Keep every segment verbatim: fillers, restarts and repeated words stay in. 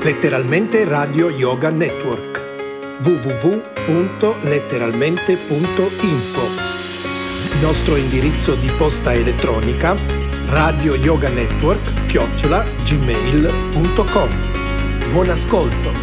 Letteralmente Radio Yoga Network. w w w punto letteralmente punto info. Nostro indirizzo di posta elettronica radio yoga network chiocciola gmail punto com. Buon ascolto.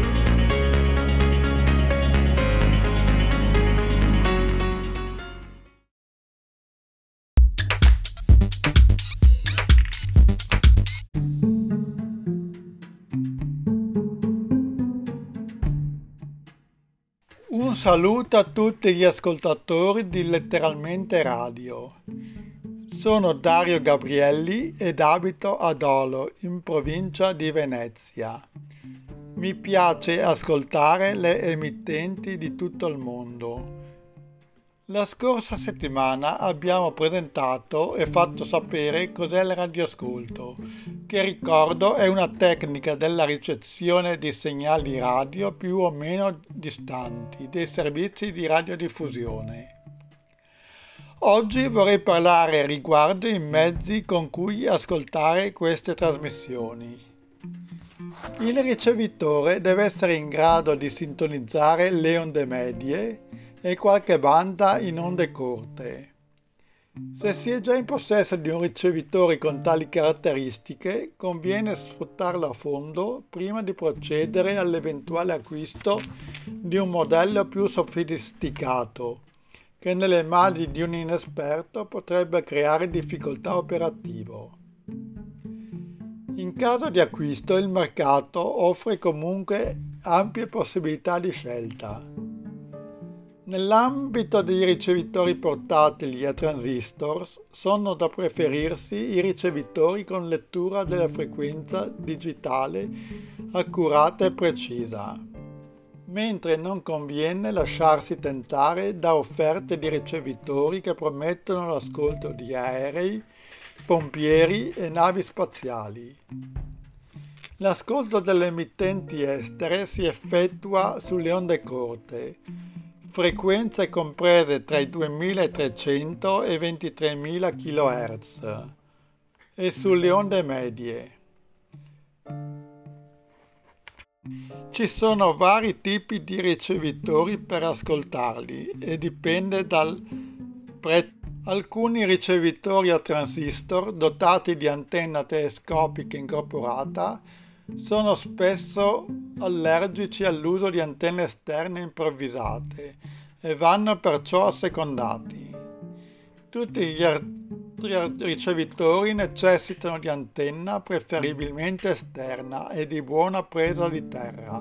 Un saluto a tutti gli ascoltatori di Letteralmente Radio. Sono Dario Gabrielli ed abito a Dolo, in provincia di Venezia. Mi piace ascoltare le emittenti di tutto il mondo. La scorsa settimana abbiamo presentato e fatto sapere cos'è il radioascolto, che ricordo è una tecnica della ricezione di segnali radio più o meno distanti dei servizi di radiodiffusione. Oggi vorrei parlare riguardo i mezzi con cui ascoltare queste trasmissioni. Il ricevitore deve essere in grado di sintonizzare le onde medie e qualche banda in onde corte. Se si è già in possesso di un ricevitore con tali caratteristiche, conviene sfruttarlo a fondo prima di procedere all'eventuale acquisto di un modello più sofisticato, che nelle mani di un inesperto potrebbe creare difficoltà operative. In caso di acquisto, il mercato offre comunque ampie possibilità di scelta. Nell'ambito dei ricevitori portatili a transistor sono da preferirsi i ricevitori con lettura della frequenza digitale accurata e precisa, mentre non conviene lasciarsi tentare da offerte di ricevitori che promettono l'ascolto di aerei, pompieri e navi spaziali. L'ascolto delle emittenti estere si effettua sulle onde corte, frequenze comprese tra i duemilatrecento e i ventitremila chilohertz, e sulle onde medie. Ci sono vari tipi di ricevitori per ascoltarli e dipende dal prezzo. Alcuni ricevitori a transistor dotati di antenna telescopica incorporata sono spesso allergici all'uso di antenne esterne improvvisate e vanno perciò assecondati. Tutti gli altri ricevitori necessitano di antenna preferibilmente esterna e di buona presa di terra,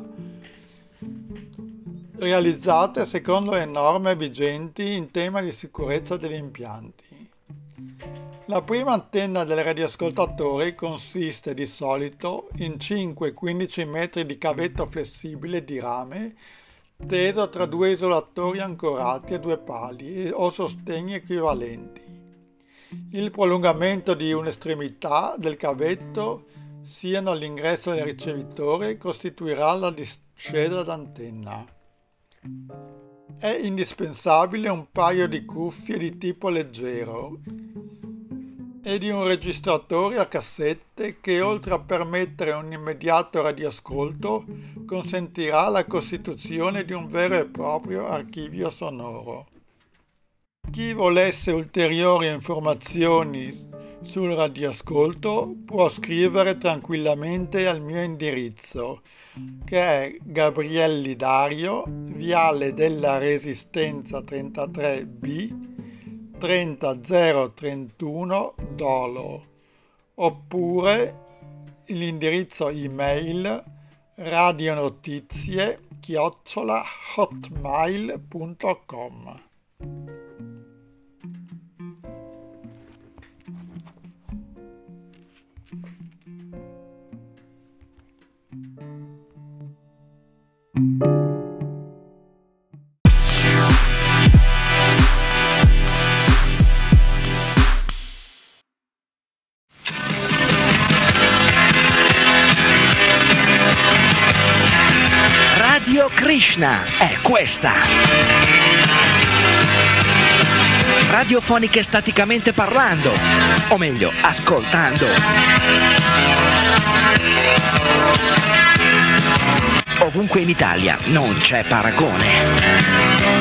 realizzate secondo le norme vigenti in tema di sicurezza degli impianti. La prima antenna del radioascoltatore consiste di solito in cinque quindici metri di cavetto flessibile di rame teso tra due isolatori ancorati a due pali o sostegni equivalenti. Il prolungamento di un'estremità del cavetto, siano all'ingresso del ricevitore, costituirà la discesa d'antenna. È indispensabile un paio di cuffie di tipo leggero e di un registratore a cassette che, oltre a permettere un immediato radioascolto, consentirà la costituzione di un vero e proprio archivio sonoro. Chi volesse ulteriori informazioni sul radioascolto può scrivere tranquillamente al mio indirizzo, che è Gabrielli Dario, Viale della Resistenza trentatré B, trenta zero trentuno Dolo, oppure l'indirizzo email radionotizie chiocciola hotmail punto com. Radio Krishna è questa. Radiofoniche staticamente parlando, o meglio, ascoltando. ovunque in Italia, non c'è paragone.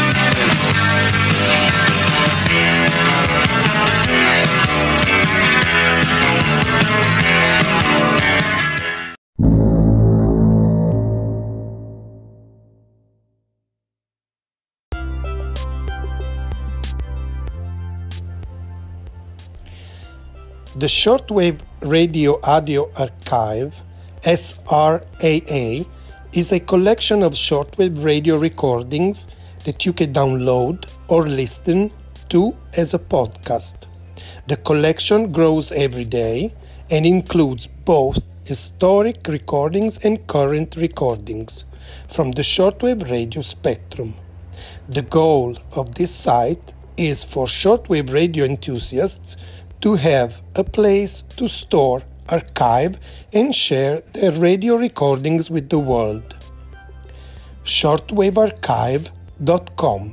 The Shortwave Radio Audio Archive, S R A A, is a collection of shortwave radio recordings that you can download or listen to as a podcast. The collection grows every day and includes both historic recordings and current recordings from the shortwave radio spectrum. The goal of this site is for shortwave radio enthusiasts to have a place to store, archive, and share their radio recordings with the world. shortwave archive dot com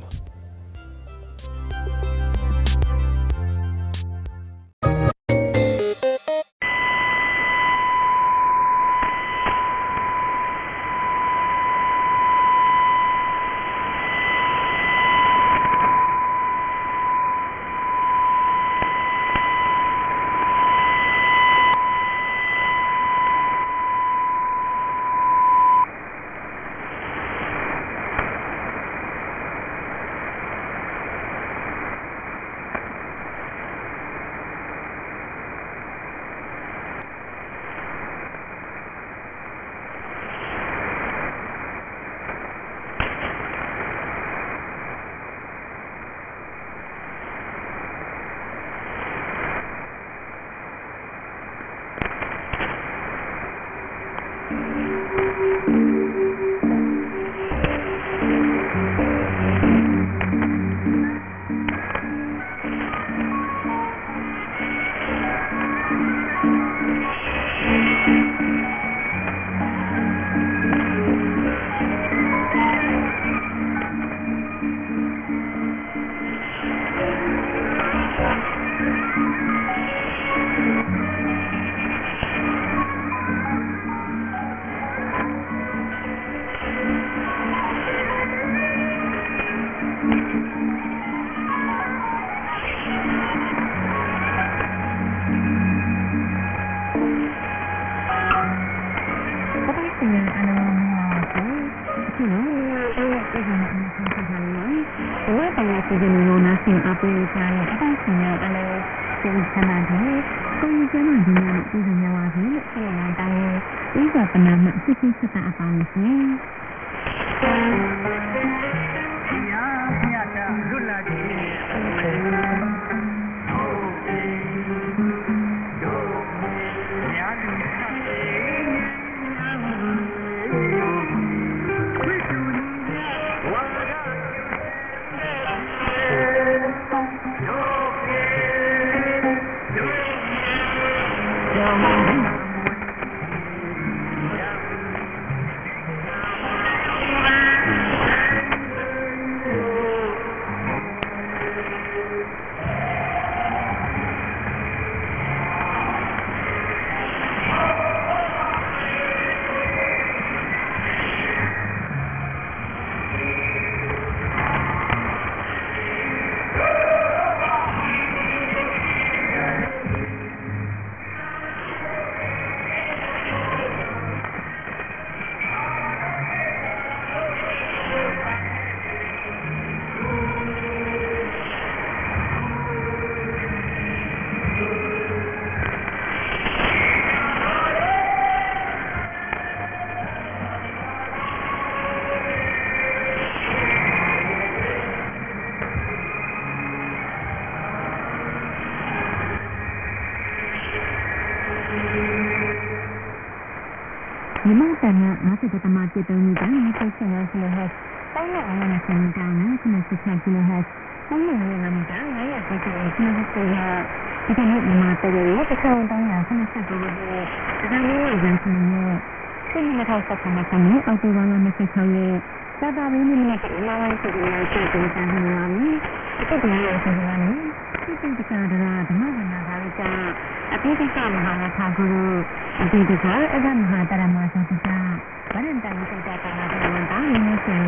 Yamata Masatamati Tony Personal Kilohertz, Tanya Sanitana, Connected Kilohertz, Tanya Ramita, I appreciate Kilohertz. You can hit the matter with the current Tanya, Connected over here. The value is in the same house of the Matami, or the one on the Kikoye. Saba really make it my to the church in San Rami. I think the house is running. You think the Kadara, the mother Nagarita, a Pika Mahara Kaguru, a Pika, a Mahara Masaka, but in time.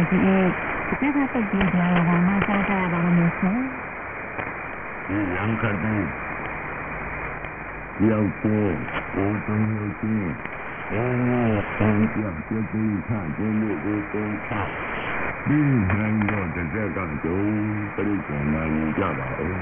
ဒီဒီကတက်ပြီးကြရတာမှစားကြရပါမယ်ဆရာဒီရံခတ်တဲ့ရောက်တော့ဘုံတုံးလို့ချင်းအဲဆန်းပြပြပြခါကျလို့ဘုံတုံးချဒီနိုင်တော့တစ်ဆက်ကကျုံပြိဿနာယူကြပါဦး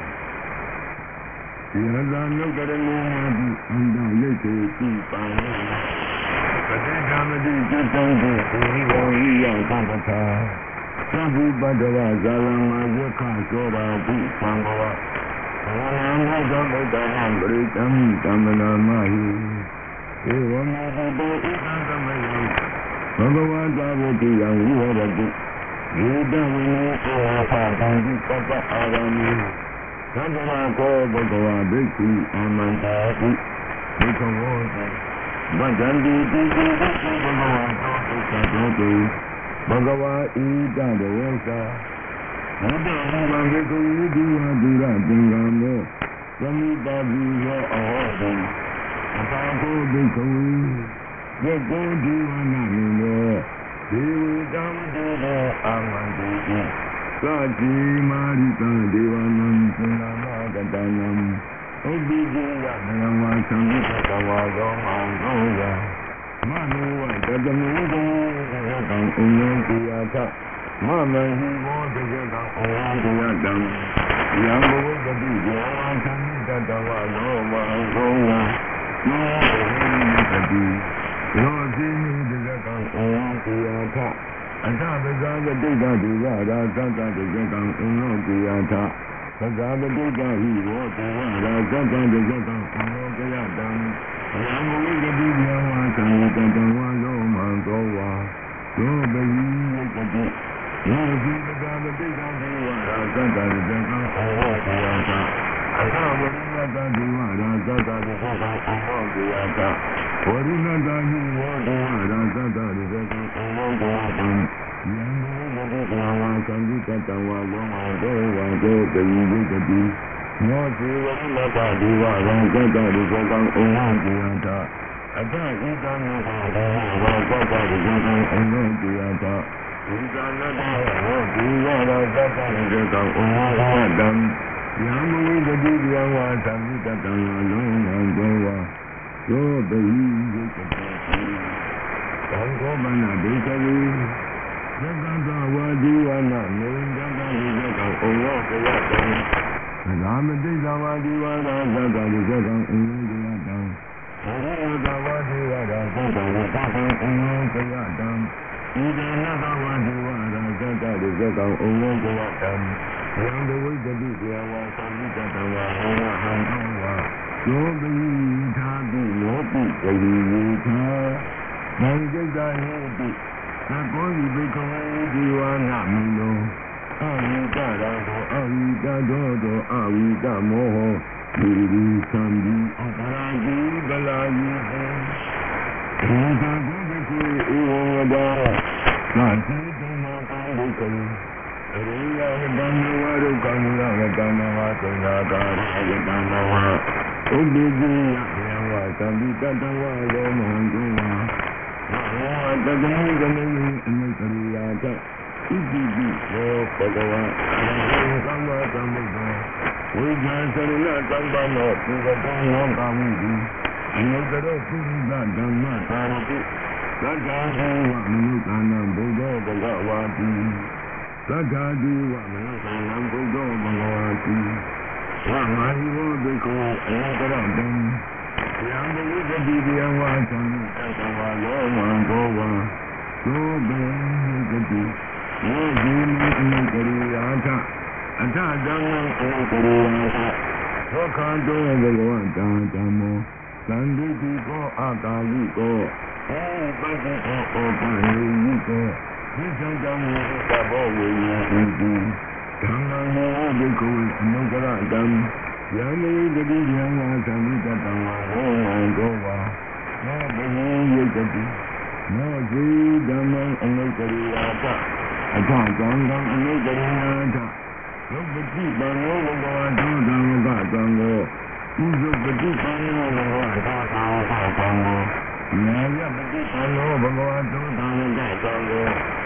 ဒီဟာသာလုတ်ကြတဲ့လူမှဒီအန္တရိတ်ကိုကြည့်ပါလို့ပဋိဓမ္မတိစိတ်တိုင်းကိုဒီဘုံကြီးရောက်သတ်တာသဗ္ဗပတ္တဝဇာလမယက္ခသောတာဘုသံဃောဘာဝနာသောဗုဒ္ဓံပရိတံတမနာမဟိဧဝမေဟိတောဣဒံသမယံဘဂဝတာဝတိယံဝိဟရတိယေတဝိနောသောဟာတံဒီပပအာရမိသဗ္ဗဝကောဘဂဝဘိက္ခုအာမန္တာတိဘိက္ခဝောတိဗဒံတိတိတိဘဂဝတောဒုက္ခတောတိဘဂဝါဣတံဒေဝသာဘုဒ္ဓဟောဘိက္ခုဒီဝဒုရသင်္ကံမောသမိတာဘိယောအဟောတိအတာကိုဘိက္ခုယကောဒီဝနာမိနောဒေဝတံဒေဝအာမန္တိတိသာတိမာရိတံဒေဝနံသန္နာမကတနံဥပ္ပိဒေယနံဝါသံဃတဝါသောမောင်သောယမနောဝတတမေတေသံဥညေတိယသမမဟိမောတေကံဩဝံတေယတံယံဘဝတတိယောသံဃတဝါသောမောင်သောယနောဟိတတိယောဇိနိတေကံဩဝံတေယသအတပဇာပတိကဒုဝရာသတ္တတေကံဥနောကေယသပဇာပတိကဟိဝောတေဝရာသတ္တတေကံဥနောကေယတံယံမဝိကတိယဝါသံဃတဝါသောမံသောဝါသောပယိယကတိယောဇိပဇာပတိကဒုဝရာသတ္တတေကံဥနောကေယသအတဝိနတဒုဝရာသတ္တတေကံဥနောကေယသဝရိနတဟိဝောတေဝရာသတ္တတေကံဥနောကေယသယံဘုဒ္ဓဂဝါသံဃတတဝါလောမသောဝါသောပယိယကတိမောဇေဝရိနတဒီဝရံသတ္တတေကံဥနောကေယသအတဣတံမေဟောဒေဝါသတ္တတေကံဥနောကေယသဣဇာနတဟောဒီဝရံသတ္တတေကံဥနောကေယသယံမဝိတတိယဝါသံဃတတဝါလောမသောဝါသောပယိယကတိသံဃောမနဒေသဝေသက္ကတဝါဒီဝနာမေန္ဒကံဒီကံဩဝကယတံသာမတိသဝါဒီဝနာသက္ကဒီကံဩဝကယတံသရတဝါဒီဝနာသက္ကဝကံဩဝကယတံဣဒနတဝါဒီဝနာသက္ကဒီကံဩဝကယတံယံဒဝိတတိဒေဝသံဃတဝါဟောဟံသောဝါယောပိသာတိယောပိပရိယေသာဘံจิตာဟေတိသကောဤဘိကဝေဒီဝနာမိနောအဝိတရာသောအဝိတသောသောအဝိတမောဟဒီဒီသံဒီအပရာဇိဗလာယိဟေဒီသာကိုဘိကဝေဧဝံဝဒါနာတိတမကာဘိကဝေအရိယဝတ္တံဝါရုကံဝရဝတ္တံဝါသုနာကာရဝတ္တံဝါဥပ္ပိတိယံဝါသံဒီတတဝါလောမဟံတုဝါဝါတတမေကမေအနုတရိယာတဣတိပိသောဘဂဝါအရဟံသမ္မာသမ္ဗုဒ္ဓေဝိဇာစရဏသံဃမောပုဂ္ဂတောလောကဝိတိအနုတရောပုရိသဓမ္မသာရတိသက္ကာဒေဝမနုဿာနံဘုဒ္ဓဘဂဝါတိသက္ကာဒေဝမနုဿာနံဘုဒ္ဓဘဂဝါတိဝါမာဟိဝဘေကောအနုတရောတံယံဘုဒ္ဓတိယံဝါသံဃတဝါလောမံဘောဝါသောဘေကတိယောဇိမံအနုတရိယာသအထဓမ္မံအနုတရိယာသသောခန္တောဘဂဝတံဓမ္မောသံဃိတိကောအာကာလိကောဧပတိကောဩပနိယိကောသစ္စာတံမေသဘောဝေယံတိဓမ္မံဟောဘိက္ခဝေအနုတရတံယံမေတတိယံဝါသံဃတတဝါဟောဝံသောဝါနောဘယိယကတိနောဇေဓမ္မံအနုတရိယာသအထသံဃံအနုတရိယာသရုပ်ပတိပံနောဘဂဝါသောဓမ္မကသံဃောဥဇုပတိပံနောဘဂဝါသောသံဃောနာယပတိပံနောဘဂဝါသောဓမ္မကသံဃော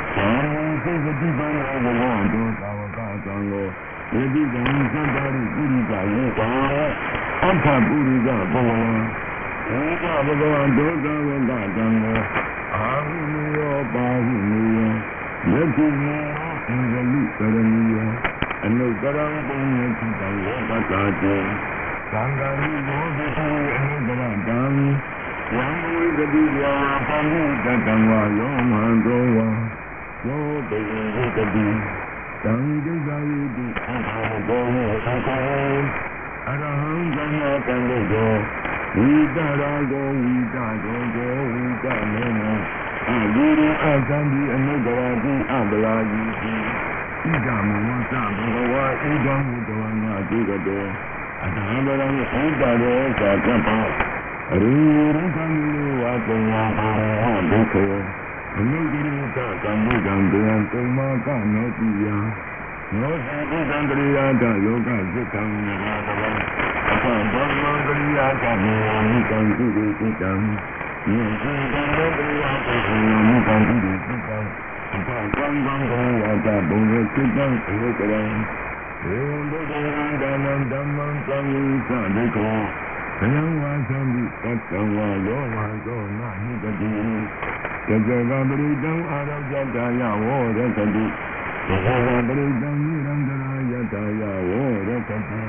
စေတတိပံဘဝတောသာဝကသံဃောယေတိကံသတ္တရိပုရိသယေကာအခါပုရိသဘဝဧကဘဂဝံဒုက္ခဝကသံဃောအာဟုနိယောပါဟုနိယောယတိမေအင်္ဂလိကရဏီယောအနုတရံပုညေတိတံယောပတာတေသံဃာရိဘောဓိအနုတရတံယံဝိကတိယာပန္နိတတံဝါယောမံတောဝါယောတေဝိကတိတံဒိဋ္ဌာယိတိအဟံဘောမေသံဃောအရဟံသမ္မာကံလေယောဝိတရာဂောဝိတရောဂောဝိတမေနအဂိရိအသံဒီအနုတရာတိအပလာယိတိဣဒံမေဝသဘဂဝါဣဒံမုတဝနာတိကတောအတဟံဗရံဣဒရောသာကပ္ပအရိရံသံလူဝါပညာအာရဟဒုက္ခေအနုဂိရိတကံမုဒံတေယံကုမကနောတိယနောစီဣဒံတရိယာတယောဂစိတ်ံနာတဝံအသံဗမ္မံတရိယာကမေမိကံတိတိစိတံယေစီတံတရိယာကမေမိကံတိတိစိတံအသံကံကံကောဝါတဘုံရစိတံဧကရံဧဝံဒုက္ခေဓမ္မံဓမ္မံသံဃိသဒိကောဘယံဝါသံတိတတံဝါယောဝါသောနာဟိတတိယဇဂပရိတံအာရောကြတာယဝောရတတိယဇဂပရိတံနိရန္တရာယတာယဝောရတတိ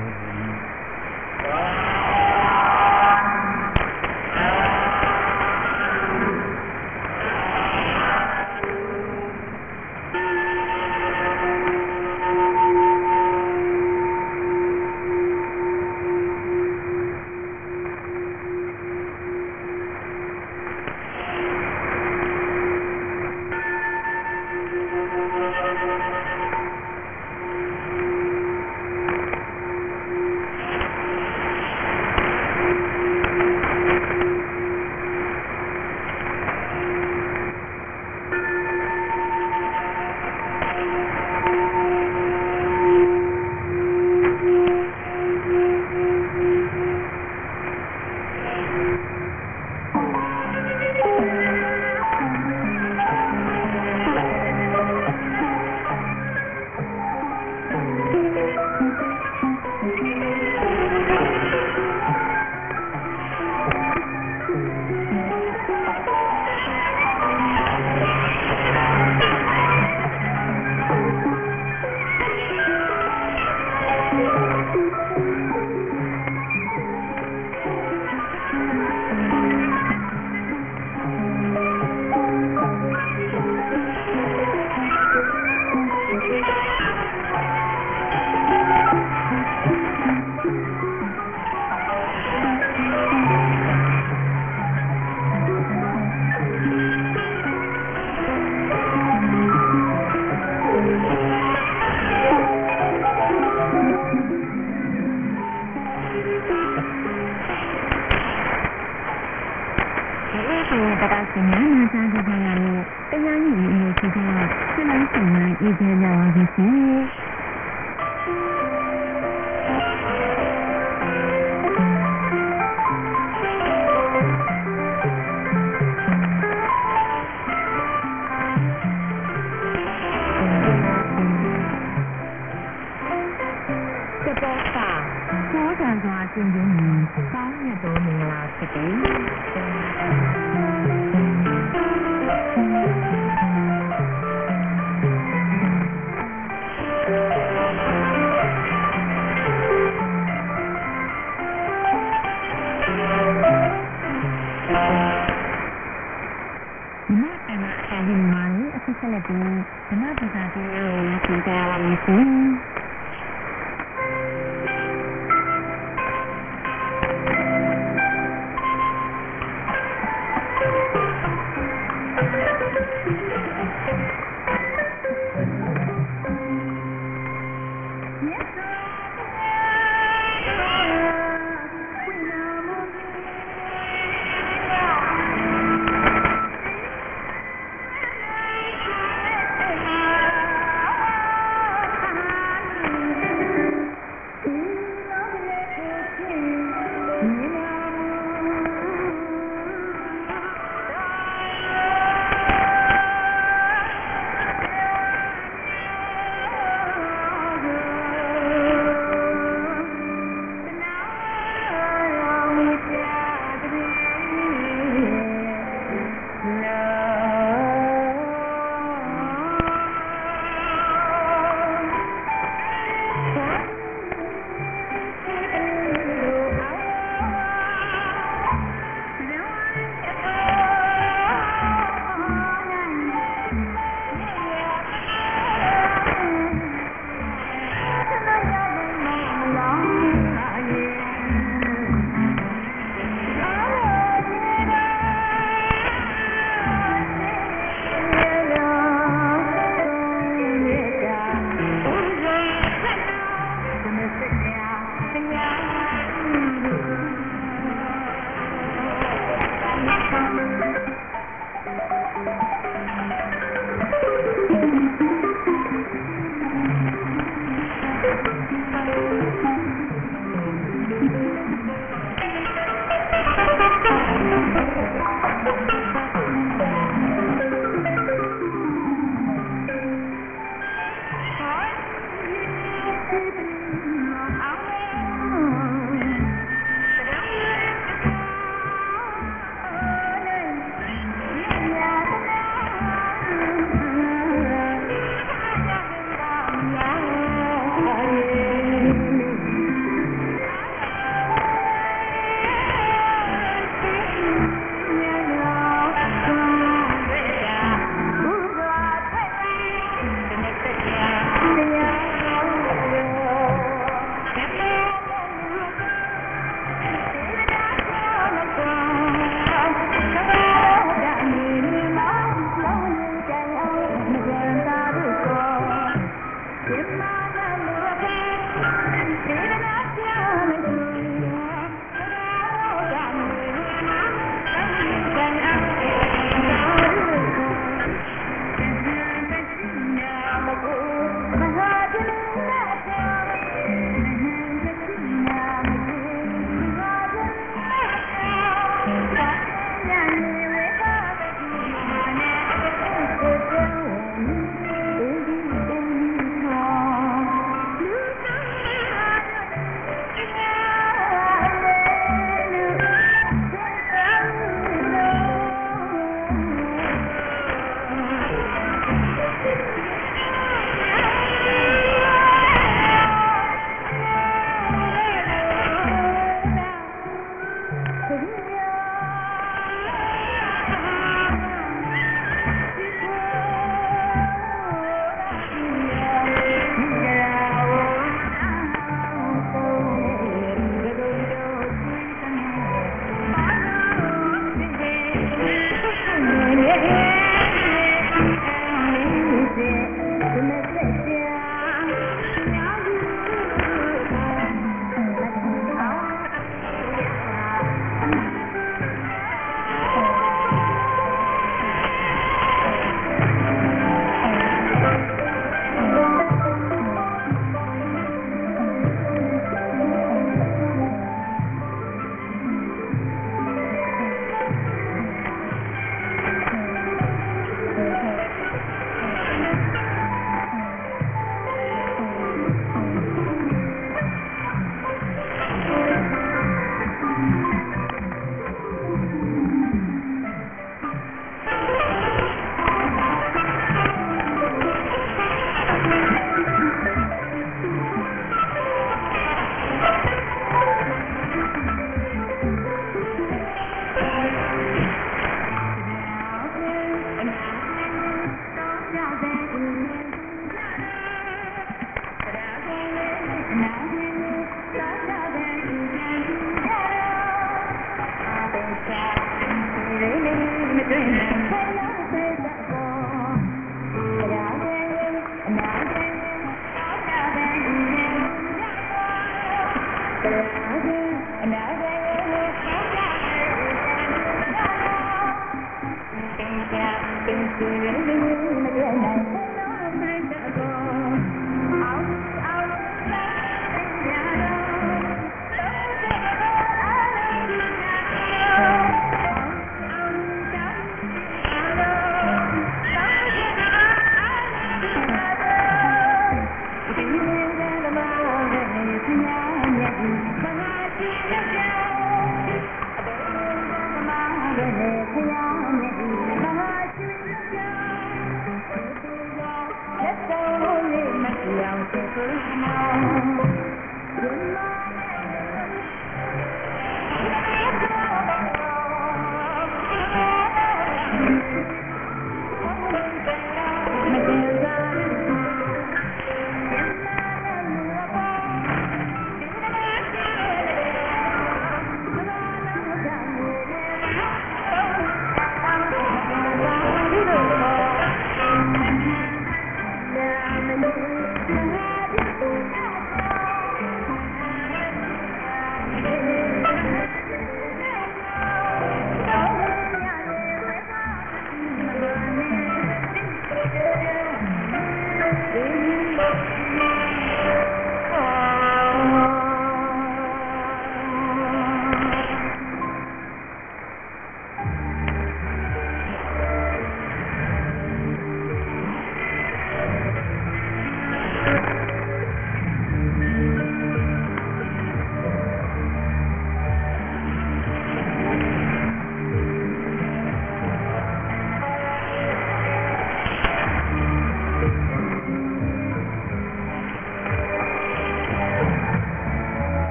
Bye.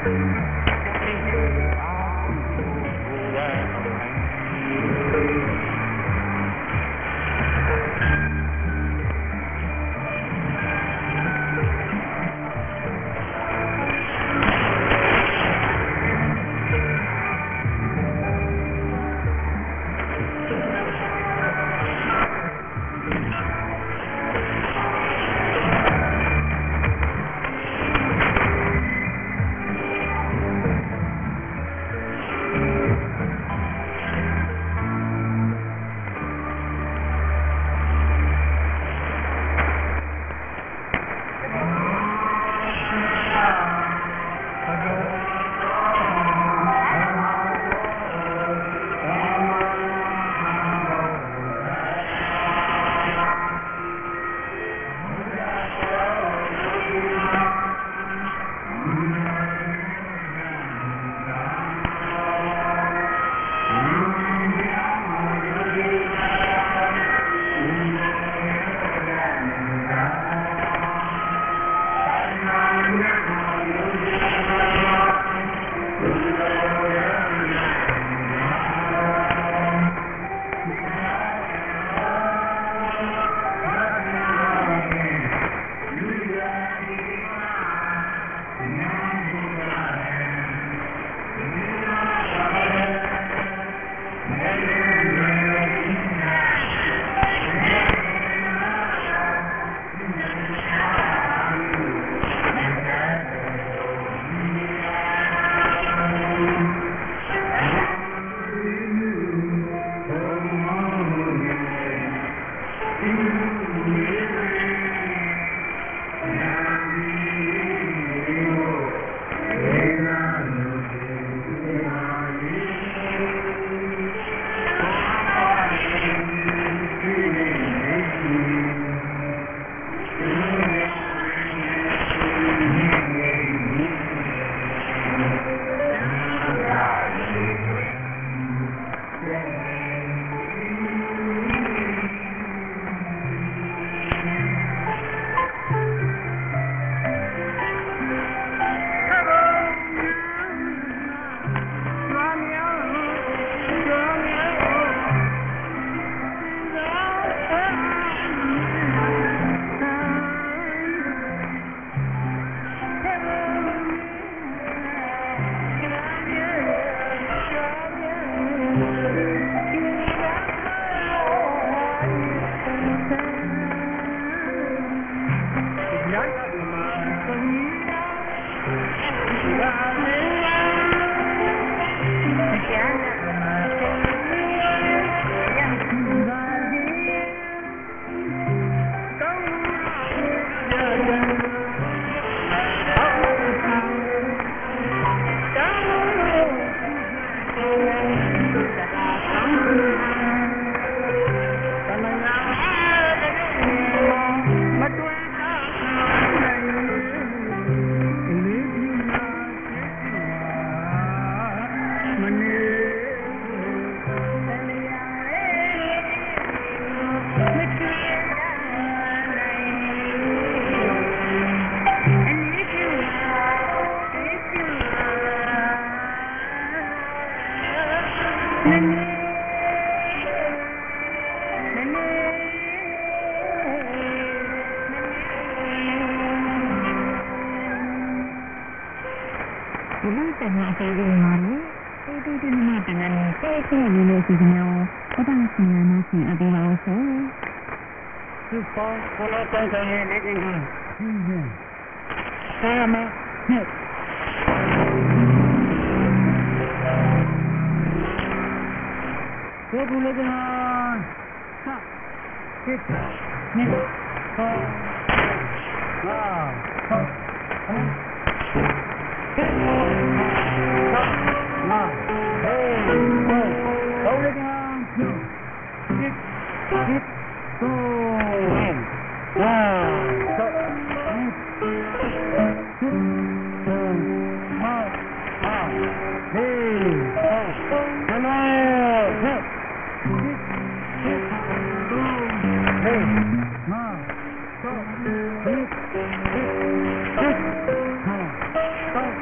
Hey!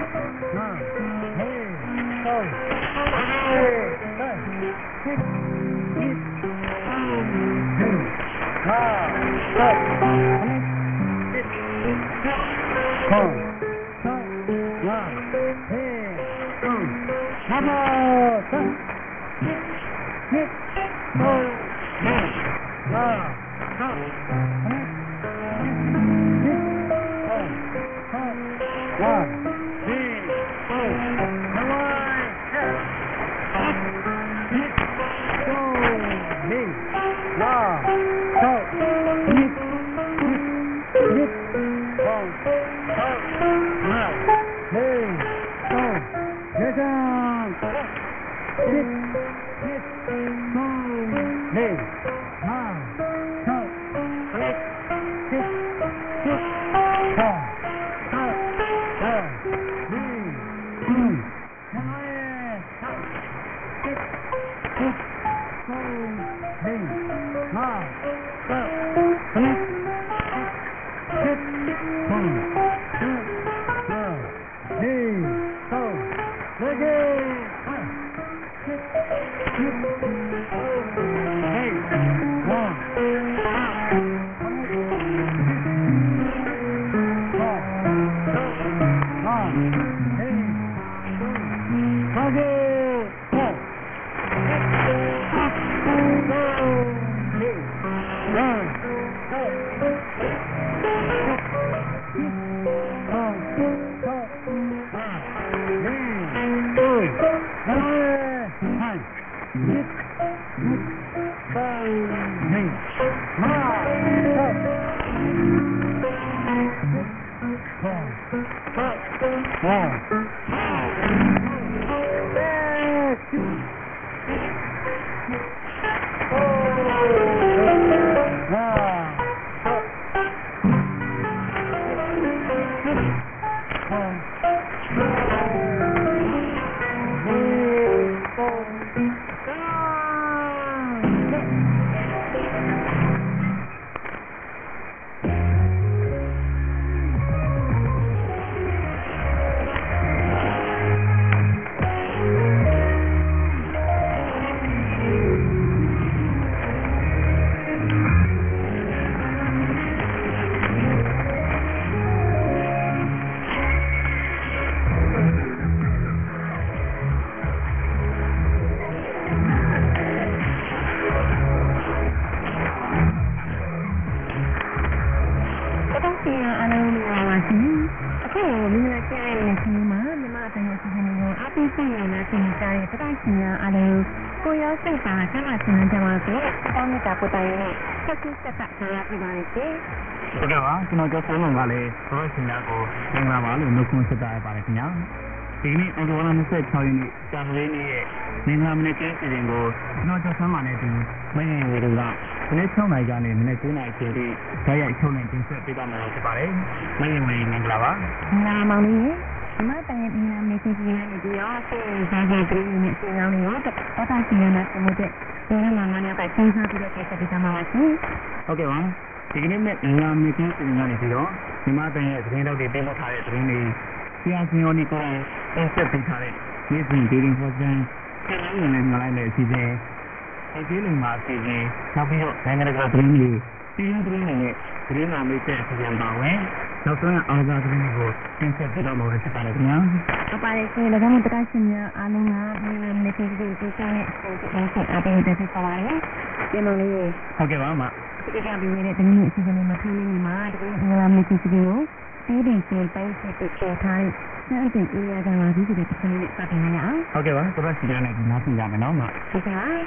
Chúng tôi có một vài tôi xin đã có những là bảo lượng không sẽ tại bài nhá. Thì này ông có làm sẽ cho những cái này nên làm nên cái gì đó nó cho sáng mà này thì mấy người được là cái sau này ra này mình cái này thì cái này sau này chính sẽ bị tao mà sẽ bài mấy người mình làm á. Làm mà đi mà tại vì làm này thì này thì nó sẽ ra cái cái này thì nó nó có ta chỉ là một cái cái mà mà nó phải xem sao thì cái cái cái mà chứ. Ok không? Thì cái này làm như thế thì như này thì đó nhưng mà tại vì đâu thì bên nó thay thì này thì anh nhớ đi coi em sẽ bị thay cái gì thì đến thời gian cái này là lại là gì thế cái gì mà thì gì sau khi anh nghe được cái này thì cái này cái này mới sẽ thì làm bảo ấy nó sẽ ở ra cái này rồi em sẽ tự động rồi sẽ phải nhá apa itu dah kamu terkasihnya anu ngah dengan netizen itu kan mungkin ada yang dari kawannya dia mengenai ok vâng ạ ketika bimbingan dengan netizen yang macam ini mah dalam netizen itu tidak sampai seperti thai nanti ia akan lagi sudah terkini katanya ok vâng tôi sẽ chỉ này nó xin giảm nó mà okay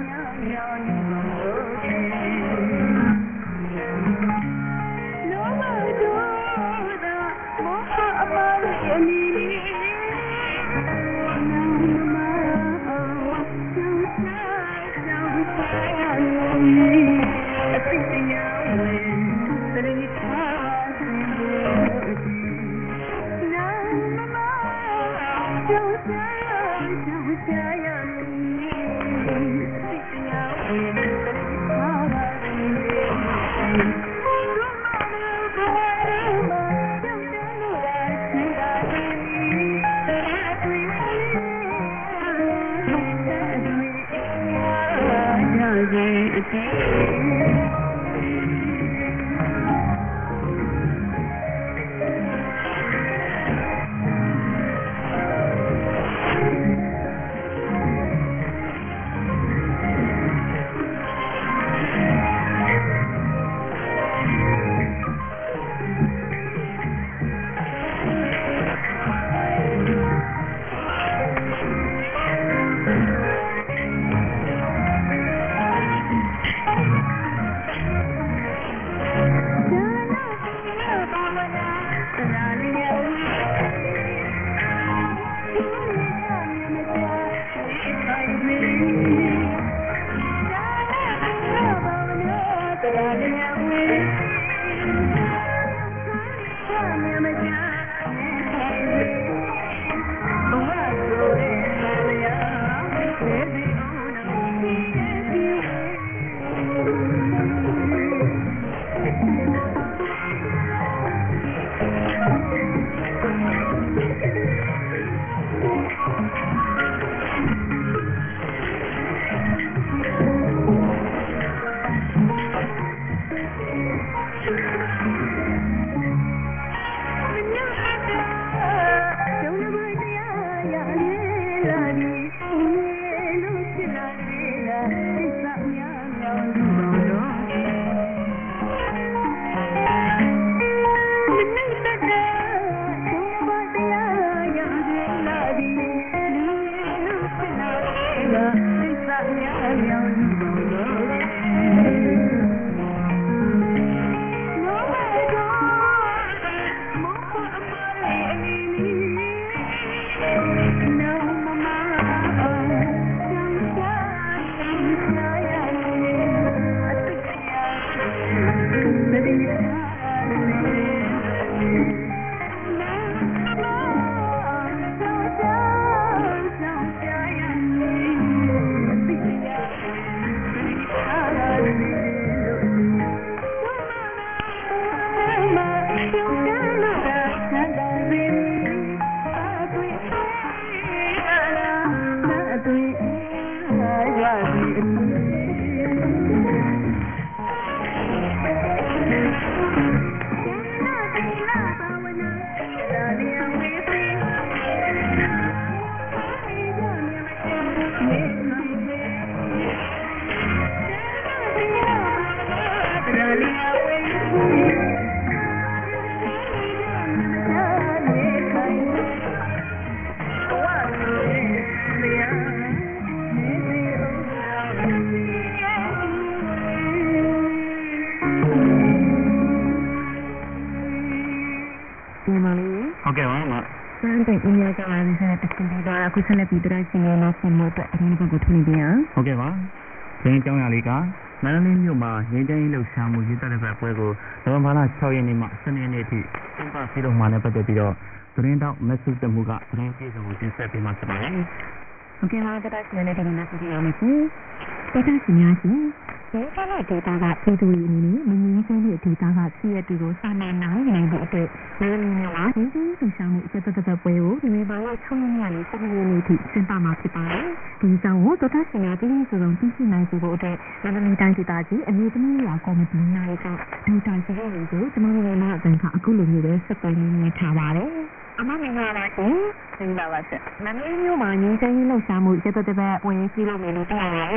အခုဆက်လက်ပြီးတရားစီရင်နောက်ဆုံးအတွက်အရင်ကကိုထွန်းနေပြန်ဟုတ်ကဲ့ပါ။ဒီကြောင်းရလေးကမန္တလေးမြို့မှာငင်းကျင်းလှုပ်ရှားမှုရေးတက်တဲ့ဘက်ပွဲကိုနိုဝင်ဘာလ၆ရက်နေ့မှ၁၂ရက်နေ့ထိကျင်းပပြုလုပ်မှာနဲ့ပတ်သက်ပြီးတော့သတင်းတောက်မက်ဆေ့ချ်မှုကသတင်းပြေဆုံးကိုတင်ဆက်ပေးမှာဖြစ်ပါတယ်။ဟုတ်ကဲ့ပါတရားစီရင်တဲ့တင်ဆက်ပေးရမယ်ရှင်။တရားစီရင်ရှင်ဒီကနေ့ဒေတာကပြည်သူတွေအနေနဲ့မငြင်းဆန်တဲ့ဒေတာကစီးရတူကိုစာနာနိုင်နိုင်တဲ့အတွက်ဒီလိုမျိုးပါဒီလိုလှုပ်ရှားမှုအချက်တစ်သက်ပွဲကိုဒီနေ့ပိုင်း၆ရက်နေ့ကနေ၁၇ရက်နေ့ထိကျင်းပမှာဖြစ်ပါတယ်။ဒီကြောင့်ဒေတာစီရင်ပြည်စုံသိရှိနိုင်စေဖို့အတွက်မန္တလေးတိုင်းဒေသကြီးအမျိုးသမီးရာကော်မတီနာယကဒေတာစီရင်ကိုကျွန်တော်တို့လည်းအတန်ခအခုလိုမျိုးပဲဆက်သွယ်နေထားပါတယ်။အမမင်္ဂလာရှင်။မင်္ဂလာပါရှင်။မန္တလေးမြို့မှာငြိမ်းချမ်းရေးလှုပ်ရှားမှုရပ်သက်သက်ပွဲကြီးလို့နေလို့တရားရဲမှာ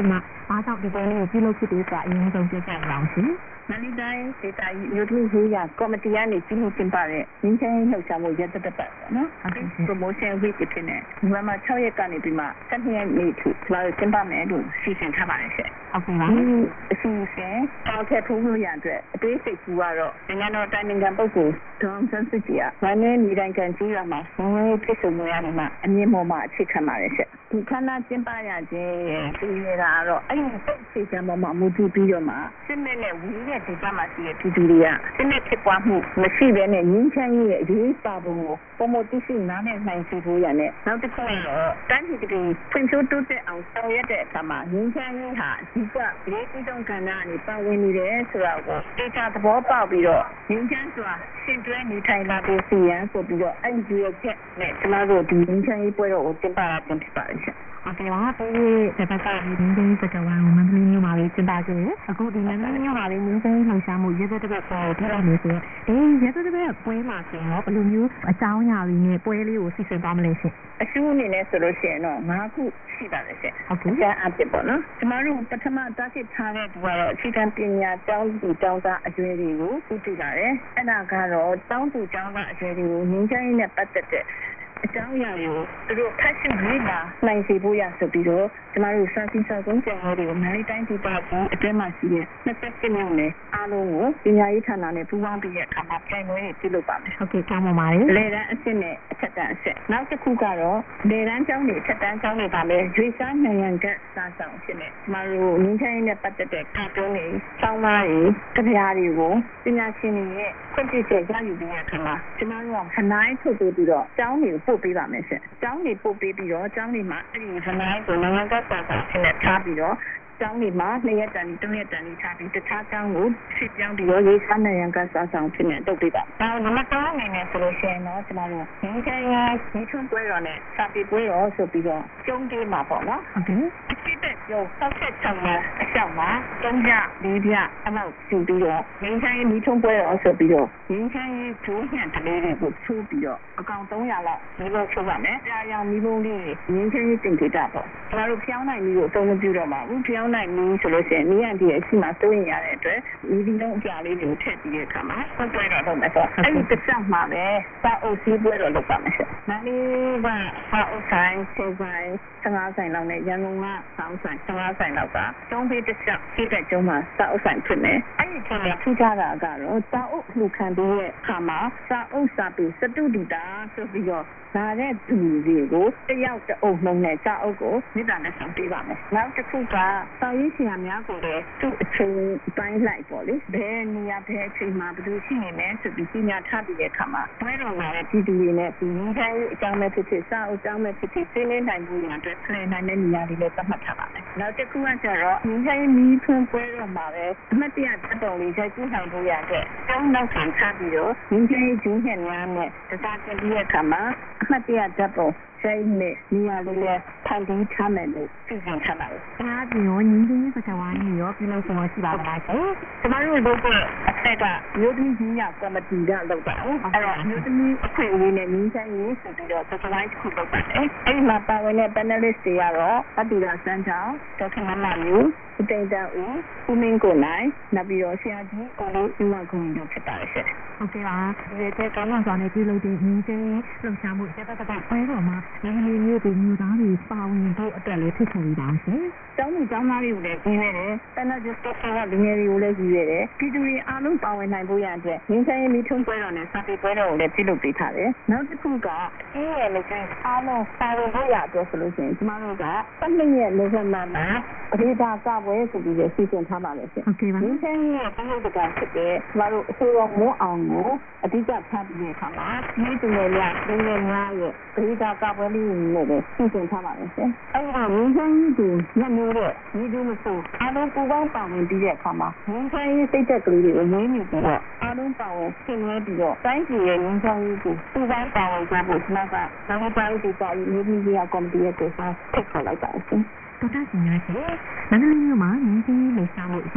ဘာကြောင့်ဒီပွဲလေးကိုပြုလုပ်ဖြစ်တယ်ဆိုတာအရင်ဆုံးပြောပြပါအောင်ရှင်မန္တလေးတိုင်းဒေသကြီးမြို့သမီးရေးရာကော်မတီကနေပြုလုပ်ကျင်းပတဲ့ငင်းချင်းလှုပ်ရှားမှုရက်သက်ပတ်ပေါ့နော်။ promotion week ဖြစ်နေ။ဒီမှာ၆ရက်ကနေပြီးမှ၁၂ရက်နေ့ထိကျွန်တော်ကျင်းပမယ်လို့စီစဉ်ထားပါတယ်ရှင်။ဟုတ်ကဲ့ပါ။အစီအစဉ်အောက်ထပ်ထိုးလို့ရတဲ့အတွက်အသေးစိတ်ကူကတော့နိုင်ငံတော်တိုင်ပင်ခံပုဂ္ဂိုလ်ဒေါ်အောင်ဆန်းစုကြည်ကဗန်နေနေတိုင်းကန်ကြီးရမှာငွေဖြစ်စုံရနေမှာအမြင့်မော်မှာအခြေခံပါတယ်ရှင်။ဒီခန္ဓာကျင်းပရခြင်းပြည်နေတာကတော့အဲ့ဒီစိတ်စီကံပေါ်မှာမူတည်ပြီးတော့မှစစ်မဲ့နဲ့ဝီးတဲ့ဒေသမှာရှိတဲ့ပြည်သူတွေကစစ်မဲ့ဖြစ်ပွားမှုမရှိဘဲနဲ့ငင်းချမ်းရေးရဲ့အရေးပါပုံကိုပုံမသိရှိနားနဲ့နိုင်စီဖို့ရတဲ့နောက်တစ်ခုကတော့တန်းပြည်ပြည်ဖွံ့ဖြိုးတိုးတက်အောင်ဆောင်ရွက်တဲ့အခါမှာငင်းချမ်းရေးဟာအဓိကအရေးကြီးဆုံးကဏ္ဍအနေပါဝင်နေတယ်ဆိုတာကိုဒေတာသဘောပေါက်ပြီးတော့ငင်းချမ်းစွာရှင်တွဲနေထိုင်လာတဲ့စီရန်ဆိုပြီးတော့အဲ့ဒီရဲ့ချက်နဲ့ကျမတို့ဒီငင်းချမ်းရေးပွဲတော်ကိုကျင်းပတာတင်ဖြစ်ပါတယ်ရှင်โอเคပါဒီတပတ်ကဒီငင်းစကဝါမန္တလေးမြို့မှာကျင်းပခဲ့တယ်အခုဒီမန္တလေးမြို့မှာလည်းငင်းစလှုပ်ရှားမှုရက်သက်တစ်ပတ်ပေါ်ထည့်လိုက်နေဆိုတော့အေးရက်သက်တစ်ပတ်ပွဲမှာဆိုရင်ဘယ်လိုမျိုးအကြောင်းအရာတွေနဲ့ပွဲလေးကိုစီစဉ်သွားမလဲရှင်အရှုအနေနဲ့ဆိုလို့ရှိရင်တော့၅ခုရှိပါတယ်ရှင်ဟုတ်ကဲ့အအဖြစ်ပေါ့နော်ကျမတို့ပထမတက်ဖြစ်ထားတဲ့ဒီကတော့အခြေခံပညာကျောင်းသူကျောင်းသားအရွယ်တွေကိုဥတည်လာတယ်အဲ့ဒါကတော့ကျောင်းသူကျောင်းသားအရွယ်တွေကိုငင်းချိုင်းနဲ့ပတ်သက်တဲ့အကြောင်းအရာတွေကိုသူတို့ဖတ်ရှုရေးလာနိုင်စေဖို့ရဆိုပြီးတော့ကျမတို့စာစီစာကုန်းကျောင်းတွေကိုမန္တလေးတိုင်းဒေသကြီးအတွင်းမှာရှိတဲ့နှစ်သက်စစ်မျိုးနဲ့အားလုံးကိုပညာရေးဌာနနဲ့ပူးပေါင်းပြီးတဲ့အခါမှာပြန်ပွဲတွေပြုလုပ်ပါမယ်ဟုတ်ကဲ့ကောင်းပါပါတယ်လေတန်းအစစ်နဲ့အထက်တန်းအစစ်နောက်တစ်ခုကတော့လေတန်းကျောင်းတွေအထက်တန်းကျောင်းတွေပါမယ်ရွေးစားနိုင်ငံကစာဆောင်ဖြစ်နေကျမတို့ငင်းချိုင်းနဲ့ပတ်သက်တဲ့ကာတွန်းတွေကျောင်းသားတွေတရားတွေကိုပညာရှင်တွေရဲ့ခွင့်ပြုချက်ရယူပြီးတဲ့အခါမှာကျမတို့ကခနိုင်ထုတ်ပြီးတော့ကျောင်းတွေကိုပို့ပေးပါမယ်ရှင်။ကျောင်းတွေပို့ပေးပြီးတော့ကျောင်းတွေမှာအဲ့ဒီခနိုင်ကိုနိုင်ငံကစာဆောင်ဖြစ်နေထားပြီးတော့ကျောင်းတွေမှာနှစ်ရက်တန်သုံးရက်တန်ထားပြီးတခြားကျောင်းကိုဖြစ်ပြောင်းပြီးတော့ရေးစားနိုင်ငံကစာဆောင်ဖြစ်နေတုတ်ပေးပါ။နောက်နံပါတ်၃အနေနဲ့ဆိုလို့ရှိရင်တော့ကျမတို့ဒီကရဒီထုံးပွဲတော်နဲ့စာပေပွဲတော်ဆိုပြီးတော့ကျုံးသေးမှာပေါ့နော်။ဟုတ်ကဲ့။အဖြစ်တဲ့ရုပ်ဆောက်ချက်ချောင်းမှာအလျှောက်မှာသုံးပြလေးပြအမောက်ယူပြီးတော့ငင်းချိုင်းဒီထုံးပွဲတော်ဆိုပြီးတော့ငင်းချိုင်းဂျိုးညံတလေးတွေကိုချိုးပြီးတော့အကောင်၃ရာလောက်ဒီလိုချိုးပါမယ်။ကြာရောင်မီးပုံးလေးငင်းချိုင်းတင်ကြတာပေါ့။ကျမတို့ဖျောင်းနိုင်မျိုးကိုအသုံးမပြုတော့ပါဘူး။ဖျောင်းနိုင်မျိုးဆိုလို့ရှိရင်နီးရန်ဒီအရှိမှစိုးရင်ရတဲ့အတွက်ဒီဒီလုံးအပြာလေးတွေကိုထည့်ပြီးတဲ့အခါမှာဆက်ပွဲတော်လုပ်မယ်ဆိုအဲ့ဒီတစ်ချက်မှာပဲစာအုပ်စည်းပွဲတော်လုပ်ပါမယ်ဆက်။နားလေးကစာအုပ်ဆိုင်ဆယ်ဆိုင်ဆယ်ငါးဆိုင်လောက်နဲ့ရန်ကုန်ကစာအုပ်ဆိုင်ဆယ်ငါးဆိုင်လောက်ကတုံးပေးတစ်ချက်စိတ်တဲ့ကျုံးမှာစာအုပ်ဆိုင်ဖြစ်နေ။အဲ့ဒီထက်ထူးခြားတာကတော့စာအုပ်လှူခံပြီးတဲ့အခါမှာစာအုပ်စာပေစတုဒီတာဆိုပြီးတော့လာတဲ့သူတွေကိုတယောက်တအုပ်လုံးနဲ့စာအုပ်ကိုမိသားနဲ့ဆောင်ပေးပါမယ်။နောက်တစ်ခုကစာရေးဆရာများကိုလည်းသူ့အချိန်ပိုင်းလိုက်ပေါ့လေ။ဘယ်နေရာဘယ်အချိန်မှာဘယ်လိုရှိနေလဲဆိုပြီးညထားပြီးတဲ့အခါမှာဘယ်တော့မှလည်းဒီသူတွေနဲ့ဒီငင်းခိုင်းအကြောင်းမဲ့ဖြစ်ဖြစ်စာအုပ်အကြောင်းမဲ့ဖြစ်ဖြစ်သိနေနိုင်မှုရတဲ့ဖလှယ်နိုင်တဲ့နေရာတွေလည်းသတ်မှတ်ထားပါမယ်။နောက်တစ်ခုကကျတော့ငင်းခိုင်းမီးထွန်းပွဲတော့မှာပဲအမှတ်တရတက်တော်လေးရိုက်ကြည့်နိုင်ဖို့ရတဲ့ကျောင်းနောက်ခံချပြီးတော့ငင်းခိုင်းကျင်းညံ့များနဲ့တစားတင်ပြီးတဲ့အခါမှာအမှတ်တရတက်တော်ဆိုင်နဲ့နေရာလေးနဲ့ဖန်တီးထားမယ်လို့ပြင်ဆင်ထားပါတယ်။ဒါပြီးတော့ညီလေးစကားဝိုင်းရောပြုလုပ်ဆောင်ရှိပါလား။ကျမတို့လုပ်တဲ့အထက်ကမြို့သမီးကြီးရကော်မတီကလုပ်တာ။အဲ့တော့မြို့သမီးအခွင့်အရေးနဲ့ညီဆိုင်ရေးဆိုပြီးတော့စကားဝိုင်းတစ်ခုလုပ်ပါတယ်။အဲ့ဒီမှာပါဝင်တဲ့ panelist တွေကတော့အတူတာစန်းချောင်းဒေါက်တာမမမျိုးအတိတ်တောဦးဦးမင်းကိုနိုင်နောက်ပြီးတော့ဆရာကြီးကိုလေးဦးမကွန်တို့ဖြစ်ပါတယ်ရှင်။ဟုတ်ကဲ့ပါဒီတဲ့ကောင်းဆောင်စွာနဲ့ပြုလုပ်တဲ့ညီချင်းလှုပ်ရှားမှုစက်ပတ်ပတ်ပွဲတော်မှာဒီလိုမျိုးဒီမျိုးသားတွေပါဝင်ဖို့အတွက်လေးဖြစ်ပေါ်လာရှင်။ကျောင်းသူကျောင်းသားတွေကိုလည်းကြီးရတယ်။ panelist တွေကလူငယ်တွေကိုလည်းကြီးရတယ်။ပြည်သူတွေအားလုံးပါဝင်နိုင်ဖို့ရတဲ့ညီချင်းမိထုံးပွဲတော်နဲ့စာပေပွဲတော်ကိုလည်းပြုလုပ်ပေးထားတယ်။နောက်တစ်ခုကအေးရလေကျအားလုံးပါဝင်ဖို့ရအတွက်ဆိုလို့ရှိရင်ကျမတို့ကပတ်နှစ်ရက်နိုဝင်ဘာမှာအဒေတာကပွဲဆိုပြီးစီစဉ်ထားပါလေရှင်။ဟုတ်ကဲ့ပါ။ဒီချင်းရဲ့ဘုရားတကဖြစ်တဲ့ကျမတို့အစိုးရမွန်းအောင်ကိုအဓိကထားပြီးတဲ့အခါမှာဒီသူတွေလည်းလူငယ်များရဲ့အဒေတာကပွဲလေးနဲ့ပဲစီစဉ်ထားပါလေရှင်။အဲ့ဒါဒီချင်းကိုညမျိုးတဲ့ဒီလိုမဆိုအားလုံးပူပေါင်းပါဝင်ပြီးတဲ့အခါမှာဒီချင်းစိတ်သက်ကလေးတွေကိုငင်းမိပြီးတော့အားလုံးပါဝင်ဆင်နွှဲပြီးတော့တိုင်းပြည်ရဲ့ငင်းချောင်းကြီးကိုပူပေါင်းပါဝင်ကြဖို့ကျွန်တော်ကနောက်ပိုင်းဒီကရေးပြီးရကော်မတီရဲ့ဒေသဆက်ခေါ်လိုက်ပါရှင်တော်တော်ရှင်ရရှိမန္တလေးမြို့မှာညီချင်းလှူရှားမှုစ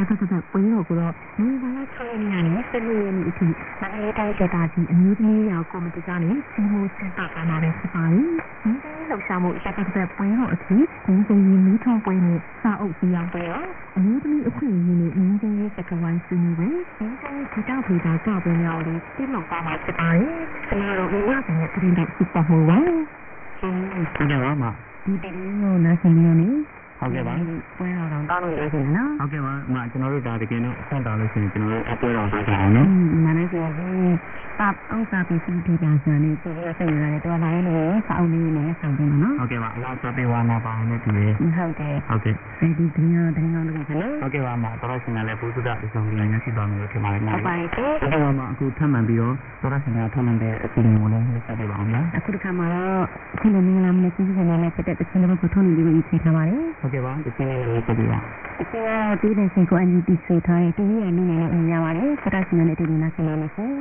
ဆက်ဆက်ဆက်ပွဲတော်ကတော့ဒီနေ့၆ရက်နေ့နဲ့၁၄ရက်နေ့အထိမန္တလေးတိုင်းဒေသကြီးအမျိုးသမီးရောကော်မတီကနေစီမိုစင်တာကနာနဲ့ဖြစ်ပါတယ်။ဒီနေ့လှုပ်ရှားမှုဆက်ဆက်ဆက်ပွဲတော်အထိဒီနေ့မီးထုံးပွဲနဲ့စာအုပ်စီအောင်ပွဲရောအမျိုးသမီးအခွင့်အရေးနဲ့ငင်းချင်းရေးစကားဝိုင်းဆွေးနွေးပွဲဒီတိုင်းဒီတောက်ဖေတာကပွဲများလေးပြည့်လောက်ပါမှာဖြစ်ပါတယ်။ကျွန်တော်တို့ဒီနေ့ကပြည်တော်စုပတ်မှုပါ။ဟုတ်ကဲ့ပါမဒီတည်းကိုနားဆင်နေနေဟုတ်ကဲ့ပါပွဲတော်တောင်းတောင်းလို့ရရှင်နော်ဟုတ်ကဲ့ပါအမကျွန်တော်တို့ဒါတကယ်တော့ဆက်တောင်းလို့ရှိရင်ကျွန်တော်တို့အပွဲတော်ထားကြအောင်နော်မနက်ဆိုရင်တပ်အောင်စာပစ္စည်းဒီပြန်စံနေပြည်တော်စိတ်ရတယ်တော်လာရင်လည်းစောင်းနေနေဆောင်တယ်နော်ဟုတ်ကဲ့ပါအလားစပေးဝါနာပါအောင်နဲ့ဒီလေဟုတ်ကဲ့ဟုတ်ကဲ့ဒီဒီညတိုင်းအောင်လုပ်ကြနော်ဟုတ်ကဲ့ပါအမတော်ရှင်လည်းဘုသူဒ္ဓအဆောင်ကြီးလည်းရရှိသွားမယ်လို့ထင်ပါတယ်နော်ဟုတ်ပါပြီဟုတ်ကဲ့ပါအမအခုထပ်မှန်ပြီးတော့တော်ရှင်ကထပ်မှန်တဲ့အစီအစဉ်ကိုလည်းဆက်ပေးပါအောင်နော်အခုတစ်ခါမှာတော့ဒီလိုမျိုးလာမလို့စီစဉ်နေတဲ့တဲ့ချင်းလေးကိုထုံးနေပြီးပြီးချိန်ထားပါတယ်ဟုတ်ကဲ့ပါဒီချင်းလေးလည်းဆက်ပေးပါဒီကဒီတဲ့ရှင်ကိုအန်ယူတီဆွေးထားတဲ့ဒီရဲ့နည်းနဲ့အမြင်ရပါတယ်စတာရှင်နဲ့ဒီလိုနားဆင်နေလို့ဆို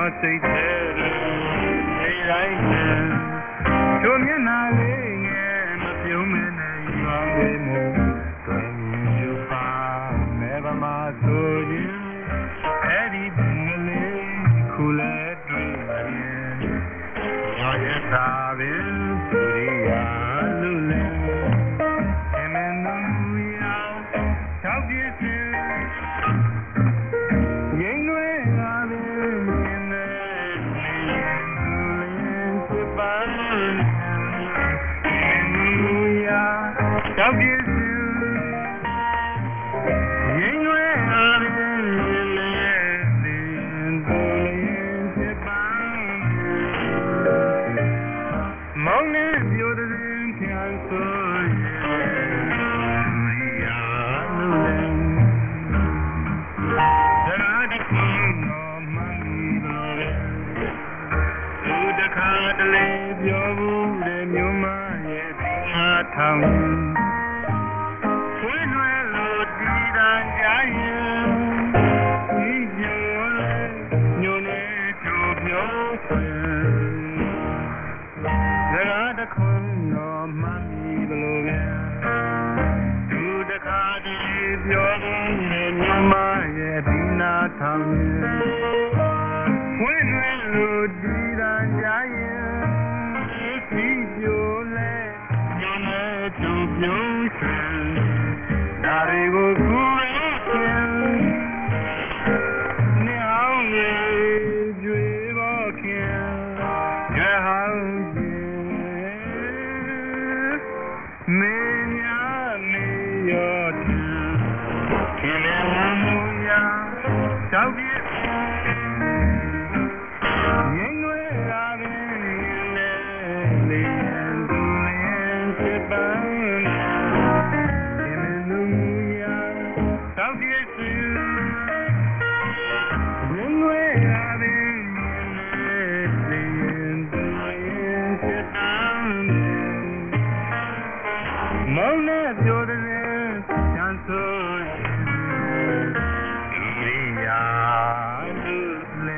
စိတ်ထဲနေတိုင်းတို့မျက်နှာလေးငယ်မပြုံးမနဲ့ရောင်းနေမို့တွင်မြူပါမဲပါမဆိုရင်အဲ့ဒီပင်လေးခုလဲတွေ့ရင်ရောရတာပင်သူရိယာလူလဲအမင်းတို့ရာတောက်ပြည့်စင်ငိမ့်ွယ်လာပင်မြင်နေလူလဲပန်းလူရာတောက်ပြည့်စင်ငိမ့်ွယ်လာပင်မောင်နဲ့ပြောတဲ့ပြန်ဆိုရင်ရာလူလဲဒါရတဲ့နော်မမီလို့လူတခါတလေပြောဘူးတဲ့မြို့မရဲ့ဟာထောင်ဆွေးနွေးလို့ဒီတန်ကြရင်ဒီပြောလဲညိုနေတို့ပြောဆွေတခုံတော့မှန်ပြီဘလို့လဲသူတခါတည်းပြောရင်မြမရဲ့ဒီနာထောင်ဝင်းဝဲလို့ဒီတန်ကြရင်ဒီပြိုလဲညနေသူပြုံးချင်ဒါတွေကိုကူရဲခင်နေအောင်လေကြွေပေါ်ခင်ရဟောင်းမင်းများနေရောခင်ဗျာမူရာတောက်ပြည့်ငိမ့်ွယ်လာပင်လေလေသူလည်းစပန်းခင်ဗျာမူရာတောက်ပြည့်ငိမ့်ွယ်လာပင်လေလေသူလည်းစပန်းမောင်နဲ့ပြောတဲ့ချမ်းဆိုဒီရာလူလဲ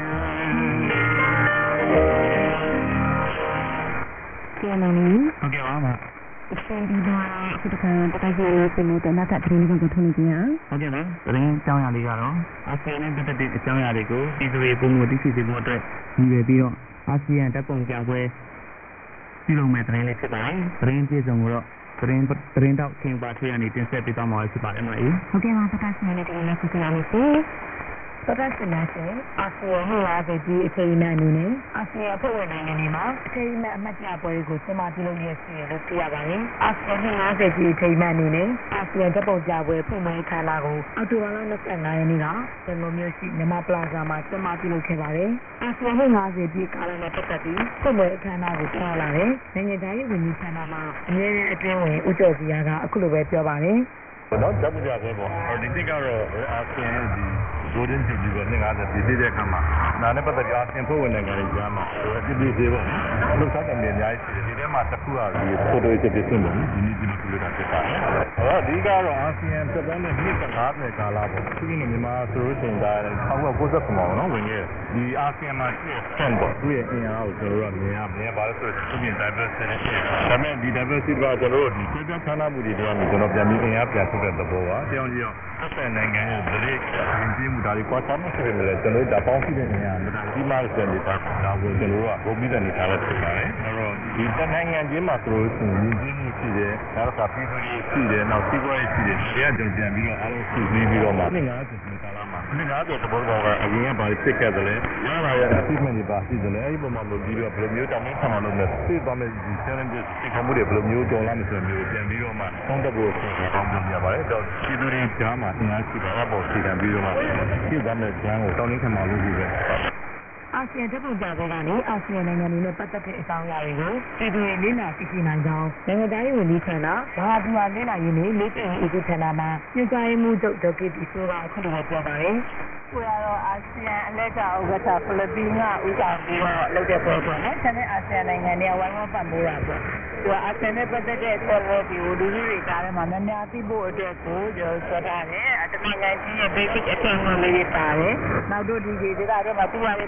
ကျန်နေဟုတ်ကဲ့ပါမအစင်းဒီတော့ဒီကတကယ်လို့ပြင်နေတဲ့နောက်ထပ်သတင်းတွေကိုထုတ်နေကြရဟုတ်ကဲ့နော်သတင်းအကြောင်းအရာလေးကတော့အာဆီယံနဲ့ပတ်သက်တဲ့အကြောင်းအရာတွေကိုပြည်သူတွေပုံမှန်သိရှိစေဖို့အတွက်ရည်ရွယ်ပြီးတော့အာဆီယံတပ်ပုံပြပွဲပြုလုပ်မဲ့သတင်းလေးဖြစ်ပါတယ်သတင်းပြည့်စုံကိုတော့သတင်းသတင်းတော့ခင်ပါထွေးရနေတင်ဆက်ပေးသွားမှာဖြစ်ပါတယ်မလားဟုတ်ကဲ့ပါပကစနေနဲ့ဒီနေ့ဆက်ရမယ်ဆိုပကစနေနဲ့အာဆီယံဟိုလာတဲ့ဒီအချိန်နဲ့အနေနဲ့အာဆီယံဖွဲ့ဝင်နိုင်ငံတွေမှာအချိန်နဲ့အမှတ်တရပွဲကိုစင်မာပြုလုပ်ရစီလို့သိရပါတယ်အာဆီယံဟိုလာတဲ့ဒီအချိန်နဲ့အနေနဲ့အာဆီယံတပ်ပုံပြပွဲဖွင့်ပွဲခမ်းနားကိုအောက်တိုဘာလ၂၅ရက်နေ့ကစင်ကုန်မြို့ရှိနမပလာဇာမှာစင်မာပြုလုပ်ခဲ့ပါတယ်အာဆီယံဟိုလာတဲ့ဒီကာလနဲ့ပတ်သက်ပြီးဖွင့်ပွဲအခမ်းအနားကိုပြောလာတယ်နိုင်ငံသားရေးဝန်ကြီးဌာနမှအမြဲတမ်းအတွင်းဝင်ဦးကျော်စီယာကအခုလိုပဲပြောပါတယ်တော့တပ်ကြပဲပေါ့ဒီတိကတော့အာဆီယံဒီဒိုဒင်းပြည်ပြီးတော့၅၀ပြည်တဲ့အခါမှာနာနဲ့ပတ်သက်ကြအာဆီယံဖွဲ့ဝင်နိုင်ငံတွေကြားမှာပြည်ပြည်သေးပေါ့လှုပ်ရှားတယ်အများကြီးရှိတယ်ဒီထဲမှာတစ်ခုကဒီဖိုတိုစစ်ဖြစ်နေတယ်ဒီနေ့ဒီလိုပြောတာဖြစ်ပါတယ်အဲ့တော့ဒီကတော့အာဆီယံသက်တမ်းနဲ့နှစ်၅၀ကာလပေါ့သူကမြန်မာဆိုလို့ရှိရင်ဒါ၁၉၉၇မှာနော်ဝင်ခဲ့ဒီအာဆီယံမှာရှိတဲ့ဆန်ပေါ့သူရဲ့အင်အားကိုကျွန်တော်တို့ကမြင်ရမြင်ပါလို့ဆိုတော့သူမြင် diversity ရှိတယ်ဒါပေမဲ့ဒီ diversity ကကျွန်တော်တို့ဒီပြည်ပဌာနမှုတွေတော့ကျွန်တော်ပြန်ပြီးအင်အားပြန်ထုတ်တဲ့သဘောပါကြောင်ကြီးရောသက်သက်နိုင်ငံရဲ့ဗလိရင်ပြမှုဒါတွေကွာခြားမှုရှိတယ်လေကျွန်တော်တို့ဒါပေါင်းရှိတဲ့နေရာမှာဒါဒီမှာစံနေတာဒါကိုကျွန်တော်တို့ကဘုံပြီးတဲ့နေထားတဲ့ဖြစ်ပါတယ်အဲ့တော့ဒီတနိုင်ငံချင်းမှာဆိုလို့ရှိရင်ရင်းနှီးမှုရှိတယ်နောက်တစ်ခါပြည်သူတွေရှိတယ်နောက်စီးပွားရေးရှိတယ်တရားကြုံပြန်ပြီးတော့အားလုံးစုစည်းပြီးတော့မှနှစ်၅၀နှစ်ကာလမှာနှစ်၅၀တဘောတော့ကအရင်ကဘာဖြစ်ခဲ့တယ်လဲရလာရတဲ့ achievement တွေပါရှိတယ်လေအဲ့ဒီပုံမှာလို့ပြီးတော့ဘယ်လိုမျိုးတောင်းခံအောင်လုပ်လဲသိသွားမယ်ဒီ challenges ဒီကမှုတွေဘယ်လိုမျိုးကြော်လာမယ်ဆိုမျိုးပြန်ပြီးတော့မှသုံးသပ်ဖို့ဆိုတော့ကောင်းပြရပါတယ်တော့ပြည်သူတွေကြားမှာအင်အားရှိတာအပေါ်စီကံပြီးတော့မှဖြစ်သွားမယ့်ဂျမ်းကိုတောင်းခံအောင်လုပ်ပြီးပဲအာဆီယံတပ်ပုံပြပွဲကနေအာဆီယံနိုင်ငံတွေနဲ့ပတ်သက်တဲ့အကြောင်းအရာတွေကိုပြည်သူတွေလေ့လာသိရှိနိုင်ကြောင်းနိုင်ငံသားရေးဝန်ကြီးဌာနဘာသာပြန်လေ့လာရေးနဲ့လေ့ကျင့်ရေးဦးဌာနမှညွှန်ကြားရေးမှူးချုပ်ဒေါက်တာတီဆိုကအခုလိုပြောပါတယ်ကိုရတော့အာဆီယံအလဲကျဥက္ကဋ္ဌဖိလစ်ပင်းကဥဆောင်ပြီးတော့လုပ်တဲ့ပွဲပေါ့နော်။ဒါနဲ့အာဆီယံနိုင်ငံတွေကဝိုင်းဝန်းပတ်မိုးတာပေါ့။သူကအာဆီယံနဲ့ပတ်သက်တဲ့ဆော်ဝဲဒီကိုလူကြီးတွေကြားထဲမှာများများသိဖို့အတွက်ကိုကျွန်တော်ဆွထားတယ်။အတမန်နိုင်ငံကြီးရဲ့ basic အထင်အမှန်လေးတွေပါတယ်။နောက်တို့ဒီဒေသတွေမှာသူ့ဟာတွေပါလိမ့်ရှိတယ်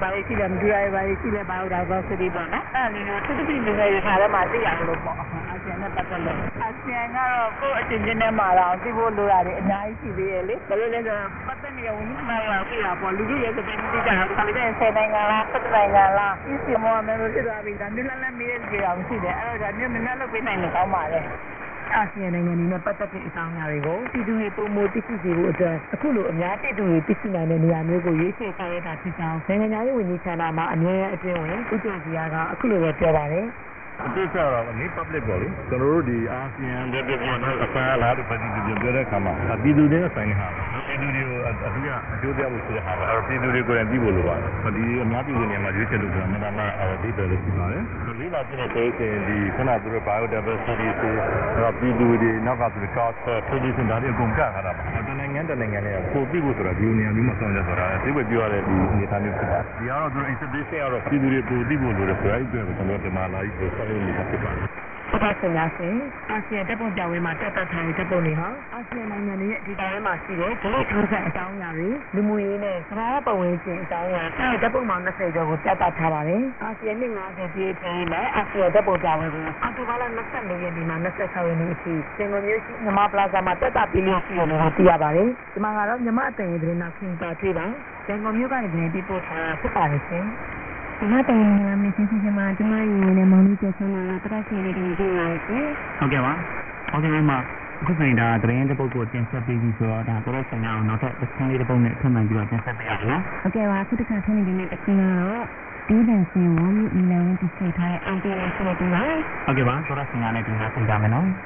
မတူရပါဘူးရှိလဲပါတော့တော့စတိပေါ့နော်အဲ့ဒီလိုသူတို့ပြည်နေတဲ့ခါထဲမှာသိရလို့ပေါ့အာဆီယံနဲ့ပတ်သက်လို့အာဆီယံကတော့ကိုယ့်အချင်းချင်းနဲ့မှာတော့သိဖို့လိုရတယ်အများကြီးရှိသေးရဲ့လေဘယ်လိုလဲဆိုတော့ပတ်သက်နေရဝင်မှလာပြရပေါ့လူကြီးရဲ့စပင်းတိကျတာခါလေးတဲ့ဆယ်နိုင်ငံလား၁၁နိုင်ငံလားအစ်စီမောမယ်လို့ဖြစ်သွားပြီဒါမျိုးလည်းလည်းမေးရကြအောင်ရှိတယ်အဲ့တော့ဒါမျိုးနည်းနည်းလုပ်ပေးနိုင်လို့ကောင်းပါလေအာဆီယံနိုင်ငံတွေနဲ့ပတ်သက်တဲ့အကြောင်းအရာတွေကိုပြည်သူတွေပုံမသိရှိစေဖို့အတွက်အခုလိုအများပြည်သူတွေသိရှိနိုင်တဲ့နေရာမျိုးကိုရွေးချယ်ထားရတာဖြစ်ကြောင်းနိုင်ငံသားရေးဝန်ကြီးဌာနမှအမြဲအတွင်းဝင်ဦးကျော်စီကအခုလိုပဲပြောပါတယ်အတိအကျတော့နေ public ပေါ့လေကျွန်တော်တို့ဒီအာဆီယံတဲ့ပြည်တော်အပန်းလာတဲ့ပြည်သူတွေပြောတဲ့အခါမှာပြည်သူတွေနဲ့ဆိုင်ဟာပြည်သူတွေကိုအထူးအကျိုးတရားလို့ဆိုတဲ့ဟာအဲ့ပြည်သူတွေကိုလည်းပြီးဖို့လိုပါတယ်ဒီအများပြည်သူတွေမှာရွေးချယ်လို့ဆိုတာမှန်မှန်ဒီပဲလို့ပြောပါတယ်လေးလာတဲ့ဆိုရင်ဒီခဏသူတို့ biodiversity ဆိုပြည်သူတွေနောက်ကသူတို့ culture tradition ဒါတွေအကုန်ကထားတာပါတနိုင်ငံတနိုင်ငံနဲ့ပို့ပြီးဖို့ဆိုတာဒီနေရာမျိုးမှာဆောင်ရွက်ဆိုတာဒီပဲပြောရတဲ့ဒီအနေအထားမျိုးဖြစ်ပါတယ်ဒီကတော့သူတို့ institution ကတော့ပြည်သူတွေပို့ပြီးဖို့လိုတယ်ဆိုအဲ့ဒီအတွက်ကျွန်တော်ဒီမှာလာပြီးဆိုဆောင်ရွက်နေတာဖြစ်ပါတယ်ဟုတ်ပါရှင်များရှင်အာဆီယံတပ်ပုံပြောင်းဝဲမှာတက်တက်ထိုင်တပ်ပုံတွေဟာအာဆီယံနိုင်ငံတွေရဲ့ဒီတောင်ထဲမှာရှိတဲ့ဒလိထိုးဆက်အကြောင်းအရာတွေလူမှုရေးနဲ့သဘာဝပတ်ဝန်းကျင်အကြောင်းအရာအဲတပ်ပုံမှာ၂၀ကျော်ကိုတက်တက်ထားပါတယ်အာဆီယံနှစ်၅၀ပြည့်ပြီးနဲ့အာဆီယံတပ်ပုံပြောင်းဝဲကိုအောက်တိုဘာလ၂၄ရက်နေ့မှာ၂၆ရက်နေ့အထိစင်ကာမြို့ရှိမြန်မာပလာဇာမှာတက်တက်ပြီးလို့ရှိရတယ်လို့သိရပါတယ်ဒီမှာကတော့မြန်မာအတန်ရေးသတင်းနောက်ခင်ပါတွေ့ပါစင်ကာမြို့ကနေပြန်ပြီးပို့ထားဖြစ်ပါတယ်ရှင်ဒီမှာတိုင်ရမယ်စစ်စစ်မှာကျမရေနဲ့မောင်လေးကျဆုံးလာတာတရက်စီလေးတွေတွေ့ရတယ်ဟုတ်ကဲ့ပါဟုတ်ကဲ့ပါအခုဆိုရင်ဒါသတင်းတစ်ပုဒ်ကိုတင်ဆက်ပေးပြီးဆိုတော့ဒါတော့ဆိုင်အောင်နောက်ထပ်တစ်ခန်းလေးတစ်ပုဒ်နဲ့ထပ်မှန်ပြီးတော့တင်ဆက်ပေးရအောင်နော်ဟုတ်ကဲ့ပါအခုတစ်ခါထပ်နေနေတဲ့တစ်ခန်းကတော့ဒီဒန်စင်ဝမ်မီလန်တိစိတ်ထားတဲ့အန်တီနဲ့ဆိုတော့ဒီပါဟုတ်ကဲ့ပါဆိုတော့ဆိုင်ရနဲ့ဒီမှာပြင်ကြမယ်နော်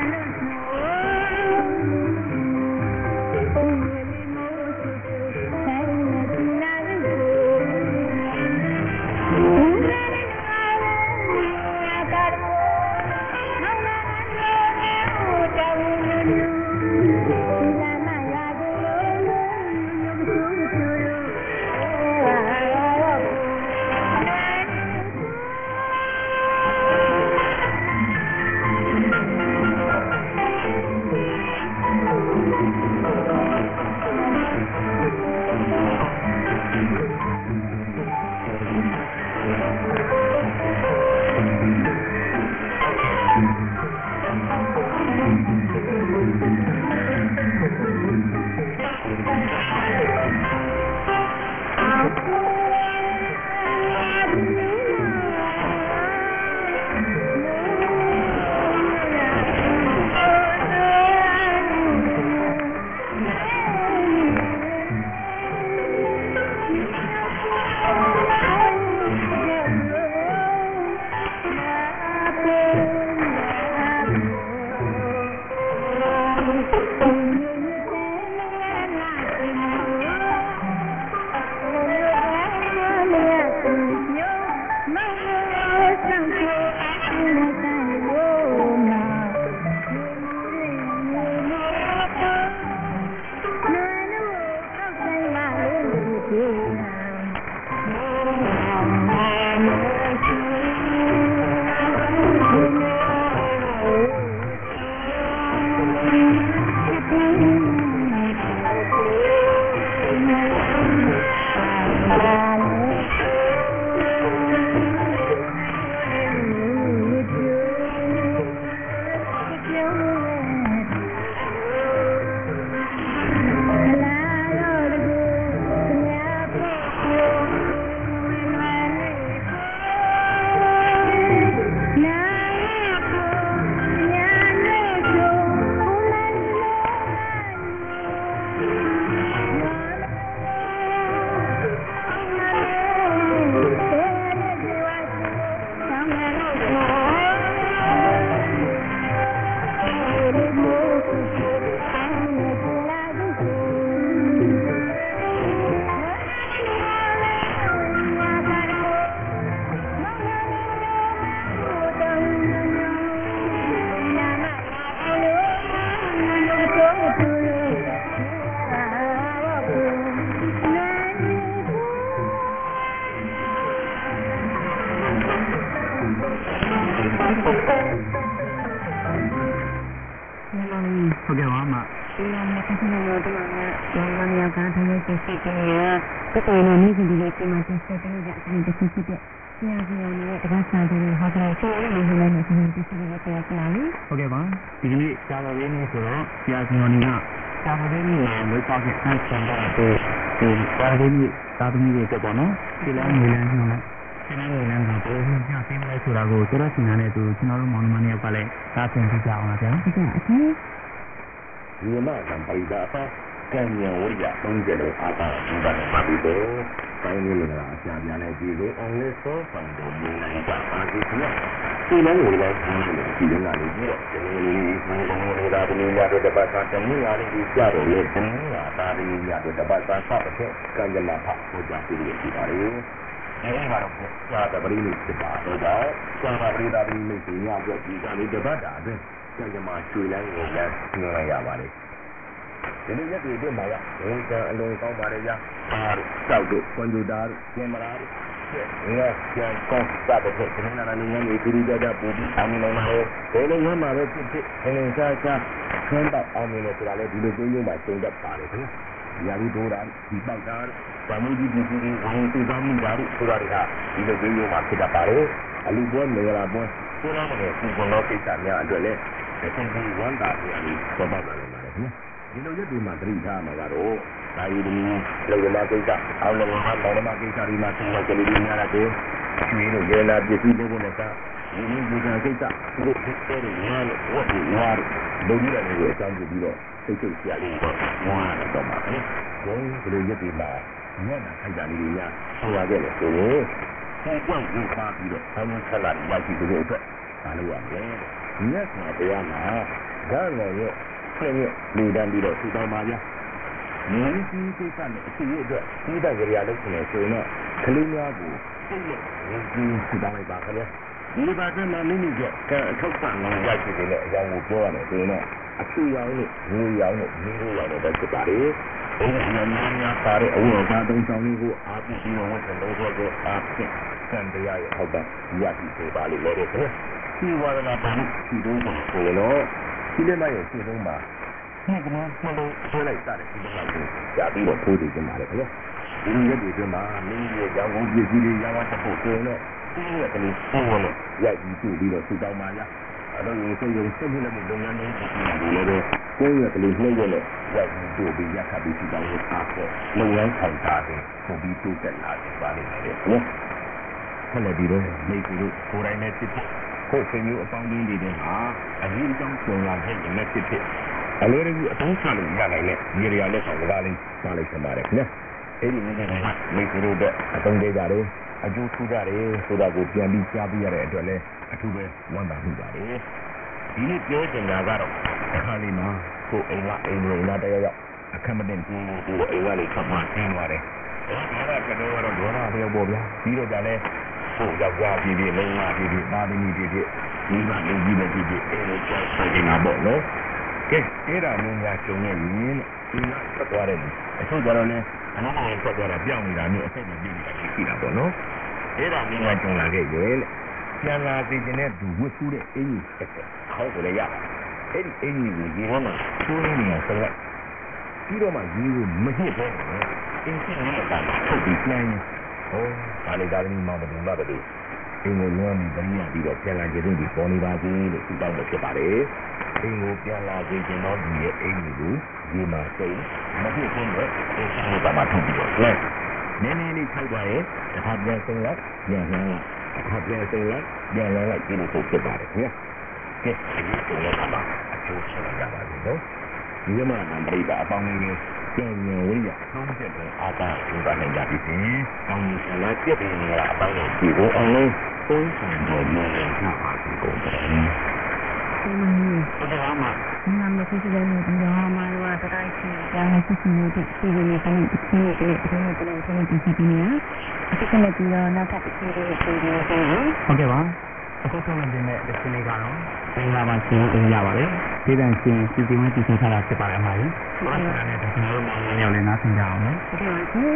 ဟဟုတ်ကဲ့ပါမဒီမှာမသိနေတော့ဒီမှာရောင်းရကထိုင်ရစစ်စစ်နေရတက်တယ်လို့နေကြည့်လို့ဒီမှာစစ်စစ်နေကြအရင်တစ်ခုဖြစ်တဲ့ဆရာကြီးနဲ့တက္ကသိုလ်တွေဟောတယ်ဆိုရင်လည်းလည်းနေစစ်စစ်နေကြတယ်လားဟုတ်ကဲ့ပါဒီကနေ့စာတော်ရင်းနေဆိုတော့ဆရာကြီးကစာတော်ရင်းနဲ့ဝေပေါက်တဲ့ဆန်းဆန်းတဲ့ဒီစာတော်ရင်းသာသမီတွေတက်ပေါ့နော်ဒီလမ်းငွေလမ်းညွှန်လိုက်ဒီလမ်းငွေလမ်းကဘယ်လိုညှသိမလဲဆိုတာကိုတော်တော်ရှင်းနေတဲ့သူကျွန်တော်တို့မောင်နှမတွေကလည်းသာသင်ပြကြအောင်ပါဗျာဟုတ်ကဲ့အချင်းဒီမှာကံပိဒါပါကံဉာဏ်ဝိရသုံးကြလို့အားသာဒီပါနဲ့ပါပြီးတော့တိုင်းလေးလည်းအရှာပြန်နေပြီလို့အောင်လေးစောပန်တော်မြင်နိုင်တာပါဒီကနေ့ဒီလမ်းကိုလည်းဒီလိုဒီလမ်းလေးပြီးတော့ဒီလိုဘုံဘုံလေးသာဒီလိုရတဲ့တပတ်သာတနည်းအားဖြင့်ကြတော့လေတနည်းအားဒါလေးရတဲ့တပတ်သာစတဲ့ကံကြမ္မာဖတ်ဟောကြားပြီးရပြီပါလေအဲဒီမှာတော့စာတပရိနိစ်ပါတော့စာပရိဒါပရိနိစ်ညပြဒီကနေ့တပတ်တာအတွင်းကံကြမ္မာကျွေလန်းကိုလည်းညွှန်ရပါလေဒီလိုရက်တွေအတွင်းမှာရဝန်ကံအလုံးကောင်းပါတယ်ရပါတောက်တို့ကွန်ပျူတာတို့ကင်မရာတို့ငါပြန်ကောင်းစတဲ့ဒီနေ့နာနေငန်းတွေဒီကြကြပူပြီးအောင်နေမှာလေဘယ်လိုရမှာပဲဖြစ်ဖြစ်ငင်စားစားခန်းတော့အောင်နေတယ်ဆိုတာလေဒီလိုကျင်းကျင်းမှာကျုံတတ်ပါတယ်ခင်ဗျာဒီလိုဒိုးတာဒီပေါက်တာဗာမူကြီးဒီဒီဝင်သူသားမှုဓာတ်ဆိုတာတွေကဒီလိုကျင်းကျင်းမှာဖြစ်တတ်ပါတယ်အလူပွဲနေရာပွဲဆိုတာကလည်းဒီကုန်းတော့ကိစ္စများအတွက်လေဒီကုန်းကြီးဝန်တာပြန်ပြီးပေါ်ပေါက်လာတယ်ပါတယ်ခင်ဗျာဒီလိုရက်တွေမှာသတိထားမှာကတော့ဒါရီဒီလောကမာကိစ္စအောင်လောကမာလောကမာကိစ္စဒီမှာသင်္ကလေးတွေများလာတယ်ကျွေးလို့ရေလာပစ္စည်းတွေနဲ့ကဒီလိုဒီကကိစ္စဒီလိုဖြစ်တဲ့ညာလို့ဝတ်ပြီးညာလို့လူကြီးတွေအကြောင်းပြပြီးတော့စိတ်စိတ်ဆရာလေးတော့ဝါရတော့မှာပဲဘုံဒီလိုရက်တွေမှာညံ့တာခိုက်တာလေးတွေများဆရာခဲ့တယ်ဆိုရင်ပုံပွင့်ကိုပါပြီးတော့ဆောင်းဆက်လာရရှိတဲ့အတွက်ဒါလို့ရမယ်ညက်မှာတရားမှာဓာတ်တော်ရဲ့ဆင်းရဲလူတန်းပြီးတော့ထူထောင်ပါဗျာငင်းကြီးကိစ္စနဲ့အစီအအတွက်ဒီတဲ့ကြရာလို့ဆိုရင်ဆိုတော့ကလေးများကိုစိတ်ရဲ့ငင်းကြီးထူထောင်လိုက်ပါခင်ဗျာဒီဘာသာမှာမိမိကအထောက်ပံ့လို့ရရှိတဲ့အကြောင်းကိုပြောရမယ်ဆိုရင်တော့အချူရောင်နဲ့ငွေရောင်နဲ့မင်းတို့ရောင်နဲ့ပဲဖြစ်ပါလေဘုရားများများပါတဲ့အဝတ်အစားသုံးဆောင်လေးကိုအားပြပြီးတော့ဝန်ဆောင်လုပ်တော့အားဖြင့်စံတရားရဲ့ဟုတ်ပါရရှိစေပါလိမ့်မယ်ခင်ဗျာဒီဝါဒနာပါလို့ဒီတော့ဆိုတော့ဒီနေ့မှရဲ့ရှင်းဆုံးမှာဒီကနေ့မလို့ဆွဲလိုက်တဲ့ဒီလောက်ကိုကြာပြီးတော့ထိုးတည်ကြပါလေခင်ဗျာဒီရက်တွေအတွင်းမှာမင်းရဲ့ရောင်ကုန်ပစ္စည်းတွေရောင်းရတဲ့ဖို့ဆိုရင်တော့ဒီရက်ကလေးပုံဝင်လို့ရိုက်ပြီးပြပြီးတော့စူတောင်းပါလားအဲ့တော့ဒီစိတ်ရုံစိတ်မှုလည်းလုပ်ငန်းတွေဒီလိုပဲကိုယ့်ရက်ကလေးနှိမ့်ရလို့ရိုက်ပြီးတို့ပြီးရက်ခပ်ပြီးစူတောင်းလို့အားဖြင့်လုပ်ငန်းဆောင်တာတွေပုံပြီးတိုးတက်လာတယ်ပါလိမ့်မယ်နော်ဆက်လက်ပြီးတော့မိတ်ဆွေတို့ကိုယ်တိုင်နဲ့ဖြစ်ဖြစ်ကိုယ်ဆွေမျိုးအပေါင်းအသင်းတွေဟာအရေးအကြောင်းဆောင်လာတဲ့နဲ့ဖြစ်ဖြစ်အလွယ်တကူအသုံးချလို့ရနိုင်တဲ့နေရာလက်ဆောင်ကားလေးပါလိုက်ချင်ပါတယ်ခင်ဗျာအဲ့ဒီနေရာမှာမိတ်ဆွေတို့အသုံးသေးကြတယ်အကျိုးထူးကြတယ်ဆိုတာကိုပြန်ပြီးကြားပြရတဲ့အတွက်လည်းအထူးပဲဝမ်းသာမိပါတယ်ဒီနေ့ပြောချင်တာကတော့အခါလေးမှာကိုယ်အိမ်ကအိမ်ဝင်လာတဲ့ရောက်အခက်မတင်ဘူးကိုယ်အိမ်ကလေးခပ်မှကျင်းသွားတယ်ဒါကကတော့တော့ဒေါနာပြောပေါ့ဗျာပြီးတော့ကြလဲကိုယ်ယောက်ျားပြည်ပြည်မိန်းမပြည်ပြည်သားသမီးပြည်ပြည်ဒီမှာလူကြီးပဲပြည်ပြည်အဲ့လိုကြောက်ဆိုင်နေတာပေါ့နော်ကဲအဲ့ဒါမျိုးများကျုံနေရင်ဒီကဆက်သွားတယ်အချို့ကြတော့လည်းအနားဆက်သွားတာပြောင်းနေတာမျိုးအဆက်မပြေးနေတာရှိတာပေါ့နော်အဲ့ဒါမင်းကကြုံလာခဲ့ရဲ့လေပြန်လာသိတဲ့သူဝတ်ဆူးတဲ့အင်းကြီးတစ်ဆက်ခေါင်းကိုလည်းရပါတယ်အဲ့ဒီအင်းကြီးကိုရေထဲမှာချိုးနေနေဆက်လိုက်ပြီးတော့မှရေကိုမညစ်ပဲအင်းကြီးနဲ့တာထုတ်ပြီးပြန်ဟောဒါလေဒါလည်းမောင်တယ်ဘာပဲလို့အင်းကိုလွှမ်းပြီးတနည်းပြီးတော့ပြန်လာကြတဲ့ဒီပေါ်နေပါသေးလို့သူတောင်းလို့ဖြစ်ပါတယ်အင်းကိုပြန်လာကြတဲ့တော့ဒီရဲ့အင်းကြီးကိုရေမှာစိတ်မဖြစ်ဘူးလေအင်းကြီးကမှထုတ်ပြီးတော့လဲနည်းနည်းလေးထိုက်သွားရင်တစ်ခါပြန်ဆုံးလိုက်ပြန်လှမ်းလိုက်တစ်ခါပြန်ဆုံးလိုက်ပြန်လှမ်းလိုက်ဒီလိုပုံဖြစ်ပါတယ်ခင်ဗျာကဲဒီလိုလည်းကမှအကျိုးရှိကြပါလိမ့်နော်ဒီမှာအပိဒါအပေါင်းလေးပြန်ညင်ဝိရသုံးချက်ပဲအာသာဒီပါနိုင်ကြပြီ။ကောင်းပြီလားပြည့်တယ်လားအပိုင်းကိုဒီကိုအောင်လို့သုံးဆောင်တော့မရဘူးပါဒီကုန်တယ်။ဒီမှာမှာနာမည်ကြီးတယ်လို့ဒီမှာမှာတော့တိုင်းချီရာရှိစီနေတဲ့ဒီလိုမျိုးတိုင်းဒီလိုတွေဒီလိုတွေဆိုရင်ဒီစီနေအခုကလည်းဒီတော့နောက်ထပ်ဒီလိုတွေဒီလိုတွေဟုတ်ကဲ့ပါအခုဆုံးနေတဲ့ဒီစနေကတော့သင်္လာပါရှင်အင်းရပါလေဒီတန်ရှင်စီစီဝင်းစီစဉ်ထားတာဖြစ်ပါတယ်အမကြီးဟုတ်ကဲ့ပါကျွန်တော်တို့မောင်လေးလည်းနားဆင်ကြအောင်နော်ဟုတ်ကဲ့ပါရှင်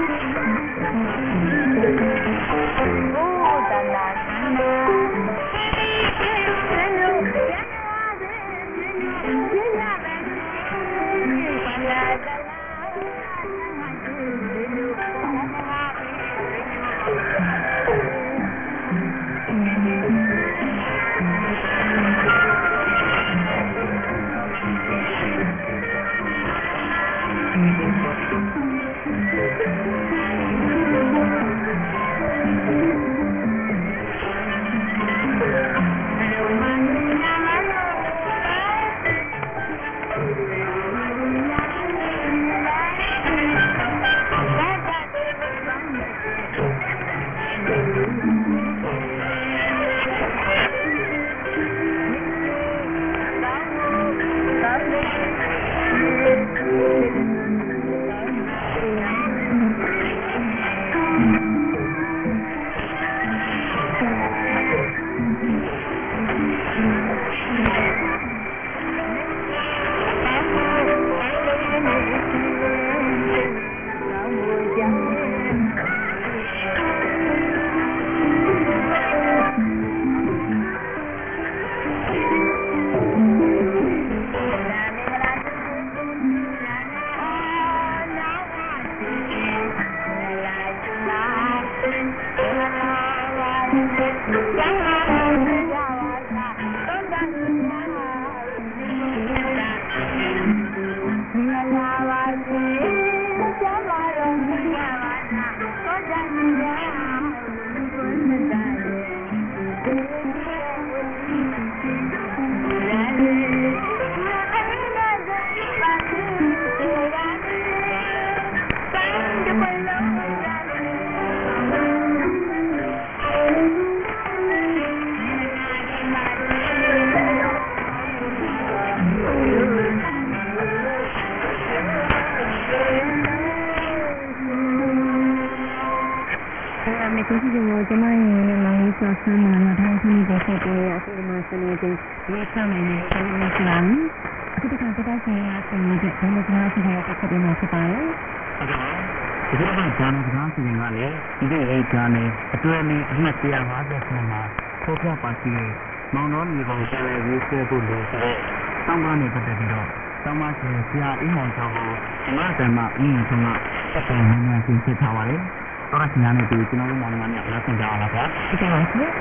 Oh, ကျေးဇူးတင်ပါတယ်ကျမရဲ့မောင်လေးဆော့ဆန်းမှာတော့ဒီနေ့ဆက်ပြီးအခုမှဆက်နေတဲ့ရေးချမယ်နဲ့ဆက်နေကြလားအခုတခါတော့ဆရာဆင်းနေတဲ့ဘယ်လိုကြားစီရတဲ့ဆက်ပြီးမှဖြစ်ပါရဲ့ဟုတ်ကဲ့ပါဒီကနေ့ဂျာနယ်စကားစီစဉ်ကလည်းဒီနေ့ရေးဂျာနယ်အတွဲနဲ့အမှတ်one fiftyမှာဖော်ပြပါရှိတဲ့မောင်တော်မြေပေါ်ကျတဲ့ရေးဆွဲဖို့လို့ဆိုတော့တောင်းပန်နေပတ်သက်ပြီးတော့တောင်းပန်ရှင်ဆရာအင်းမောင်ကျော်ကိုဒီမှာတည်းမှာအင်းထုံးကဆက်သွယ်နေနေရှင်းပြထားပါတယ်တော့ဆရာနဲ့ဒီကျွန်တော်တို့မောင်နှမများလက်ဆင့်ကြအောင်လားဗျာဟုတ်ကဲ့ပါဆရာ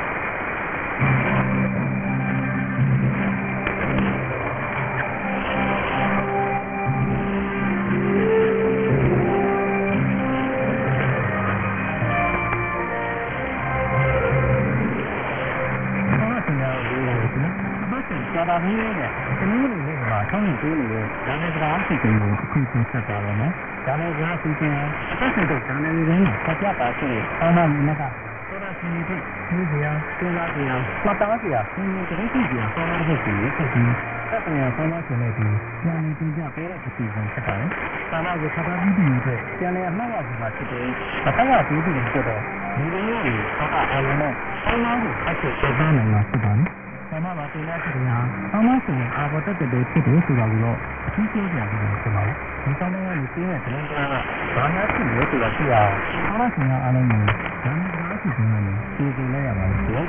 ဒါပါနေတယ်ဒီလိုလေးမှာဆောင်းနေသေးတယ်ဒါနဲ့ကြာအစီအစဉ်ကိုအခုပြန်ဆက်ပါတော့မယ်ဒါနဲ့ကြာအစီအစဉ်အသက်ရှင်တဲ့ဒါနဲ့ရင်းဆက်ပြပါရှိတယ်အော်နာမင်းကသောတာရှင်တွေဒီစရာစဉ်းစားကြရမှတ်သားစရာစဉ်းစားကြည့်ကြရဆောင်းတဲ့စီကိုဆက်ပြီးသက်ဆိုင်ရာဆောင်းရှင်တွေဒီညာနေတင်ကြပေးတဲ့အစီအစဉ်ဖြစ်ပါတယ်။သာမကိုဆက်ပါပြီးပြီးအတွက်ပြန်လည်အမှတ်ရစီမှာဖြစ်တယ်။အသက်ရပြီးပြီးဆိုတော့ဒီလိုမျိုးတွေသောတာအလုံးနဲ့ဆောင်းကိုအချက်ချက်သားနိုင်မှာဖြစ်ပါတယ်။ဆရာမပါတင်လာတဲ့နေရာအမဆိုရင်အာဘောတက်တဲ့ဖြစ်တယ်ဆိုတာကိုတော့အထူးပြောပြရအောင်ဆိုပါဦးဒီကောင်းတဲ့လူကြီးရဲ့သတင်းကြားကဘာများဖြစ်လဲဆိုတာသိရအောင်အမဆိုရင်အားလုံးကိုဒါနဲ့ဒါအစီအစဉ်နဲ့ဒီဒီလိုက်ရပါလိမ့်မယ်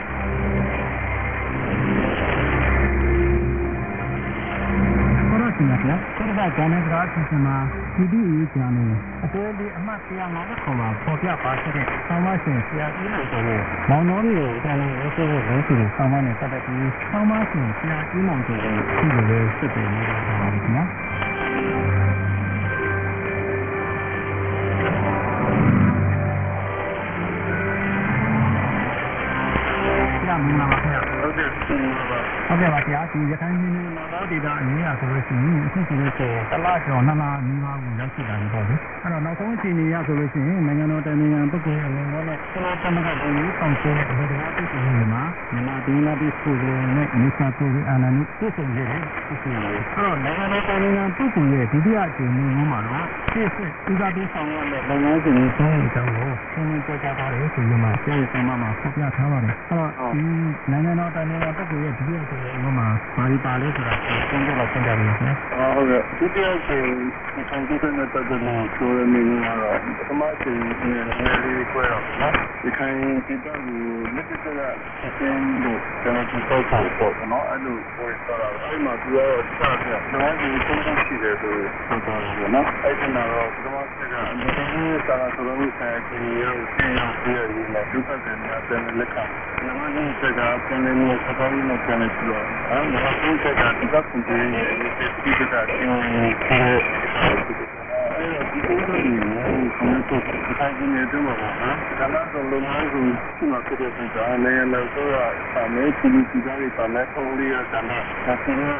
ဒီမှာကျတော့ဂျာနယ်စကားအစီအစဉ်မှာဒီဒီရေးကြတယ်အတွဲဒီအမှတ်one fiftyခေါ်မှာပေါ်ပြပါရှိတဲ့ဆောင်းမရှင်ဆရာကြီးလို့ဆိုလို့မောင်တော်မျိုးကိုလည်းရေးဆိုလို့ရေးဆိုလို့ဆောင်းမနဲ့ပတ်သက်ပြီးဆောင်းမရှင်ဆရာကြီးမောင်တို့ကိုဒီလိုလေးစစ်တယ်နေတာပါခင်ဗျာမင်္ဂလာပါခင်ဗျာဟုတ်ကဲ့ဟုတ်ကဲ့ပါဆရာဒီရခိုင်ပြည်နယ်မှာတော့ဒေတာအနည်းရဆိုလို့ရှိရင်အခုဆိုလို့ရှိရင်တလကျော်နှစ်လနီးပါးကိုရောက်ရှိတာပြီပေါ့လေအဲ့တော့နောက်ဆုံးအခြေအနေရဆိုလို့ရှိရင်နိုင်ငံတော်တိုင်ပင်ခံပုဂ္ဂိုလ်အနေနဲ့လည်းကျွန်တော်သမဂ္ဂပြည်ကြီးကောင်စီရဲ့အမှုတရားပြုလုပ်နေမှာမြန်မာပြည်နာပြည်ကိုယ်နဲ့မိစ္ဆာကိုယ်အာဏာနုပြည့်စုံနေတယ်ပြည့်စုံနေတယ်အဲ့တော့နိုင်ငံတော်တိုင်ပင်ခံပုဂ္ဂိုလ်ရဲ့ဒုတိယအကြိမ်မျိုးမှာတော့ပြည့်စုံဥစားပြီးဆောင်ရမယ့်လုပ်ငန်းစဉ်တွေဆုံးအကြောင်းကိုရှင်းလင်းပြောကြားထားတယ်ဆိုပြီးမှကျေးဇူးတင်မှာဖော်ပြထားပါတယ်အဲ့တော့ဒီနိုင်ငံတော်တိုင်ပင်ခံပုဂ္ဂိုလ်ရဲ့ဒုတိယအကြိမ်မျိုးမှာဘာဒီပါလဲဆိုတာကိုရှင်းပြတော့ရှင်းပြပါမယ်နော်ဟုတ်ကဲ့ဒုတိယအကြိမ်ဒီဆောင်ကြည့်တဲ့ပတ်သက်လို့ဆိုရမယ့်နေရာတော့ပထမအကြိမ်နည်းနည်းလေးခွဲတော့နော်ဒီခိုင်ဒီတော့လက်တက်ကဆက်စင်းလို့ကျွန်တော်ဒီပေါ့ပေါ့နော်အဲ့လိုပြောရတာအဲ့မှာသူကတော့စတာနော်ဒီသုံးခုရှိတယ်ဆိုတော့နော်အဲ့ဒီမှာတော့ပထမအကြိမ်ကအမြဲတမ်းစာဆိုလို့ဆိုင်ခြင်းရောဆင်းရောက်ပြီးရည်နဲ့ဒုက္ခတွေများတဲ့လက်ခံနမဒီစကားပြန်နေစကားရင်းနဲ့ပြန်နေပြီးတော့အဲ့ဒါကသူ့စကားဒီကခုတည်းရဲ့ဒီစကားကိုဒီလိုမျိုးကိုတော့ဒီတိုင်းနေတော့မှာဟာဒါမှတော့လုံးဝကိုဒီမှာဖြစ်တဲ့ကြာနေလို့ဆိုတော့အမေကဒီဒီကားလေးပါမယ်ပုံလေးရတာမှဒါဆိုတော့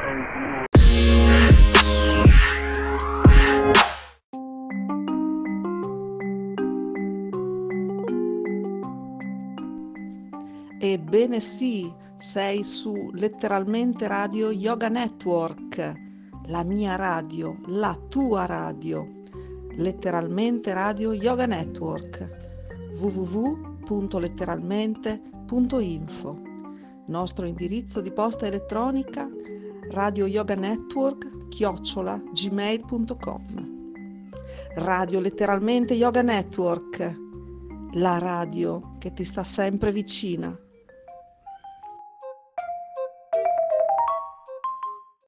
Ebbene sì, sei su letteralmente Radio Yoga Network, la mia radio, la tua radio, letteralmente Radio Yoga Network, w w w punto letteralmente punto info, nostro indirizzo di posta elettronica radio yoga network chiocciola gmail punto com. Radio Letteralmente Yoga Network, la radio che ti sta sempre vicina.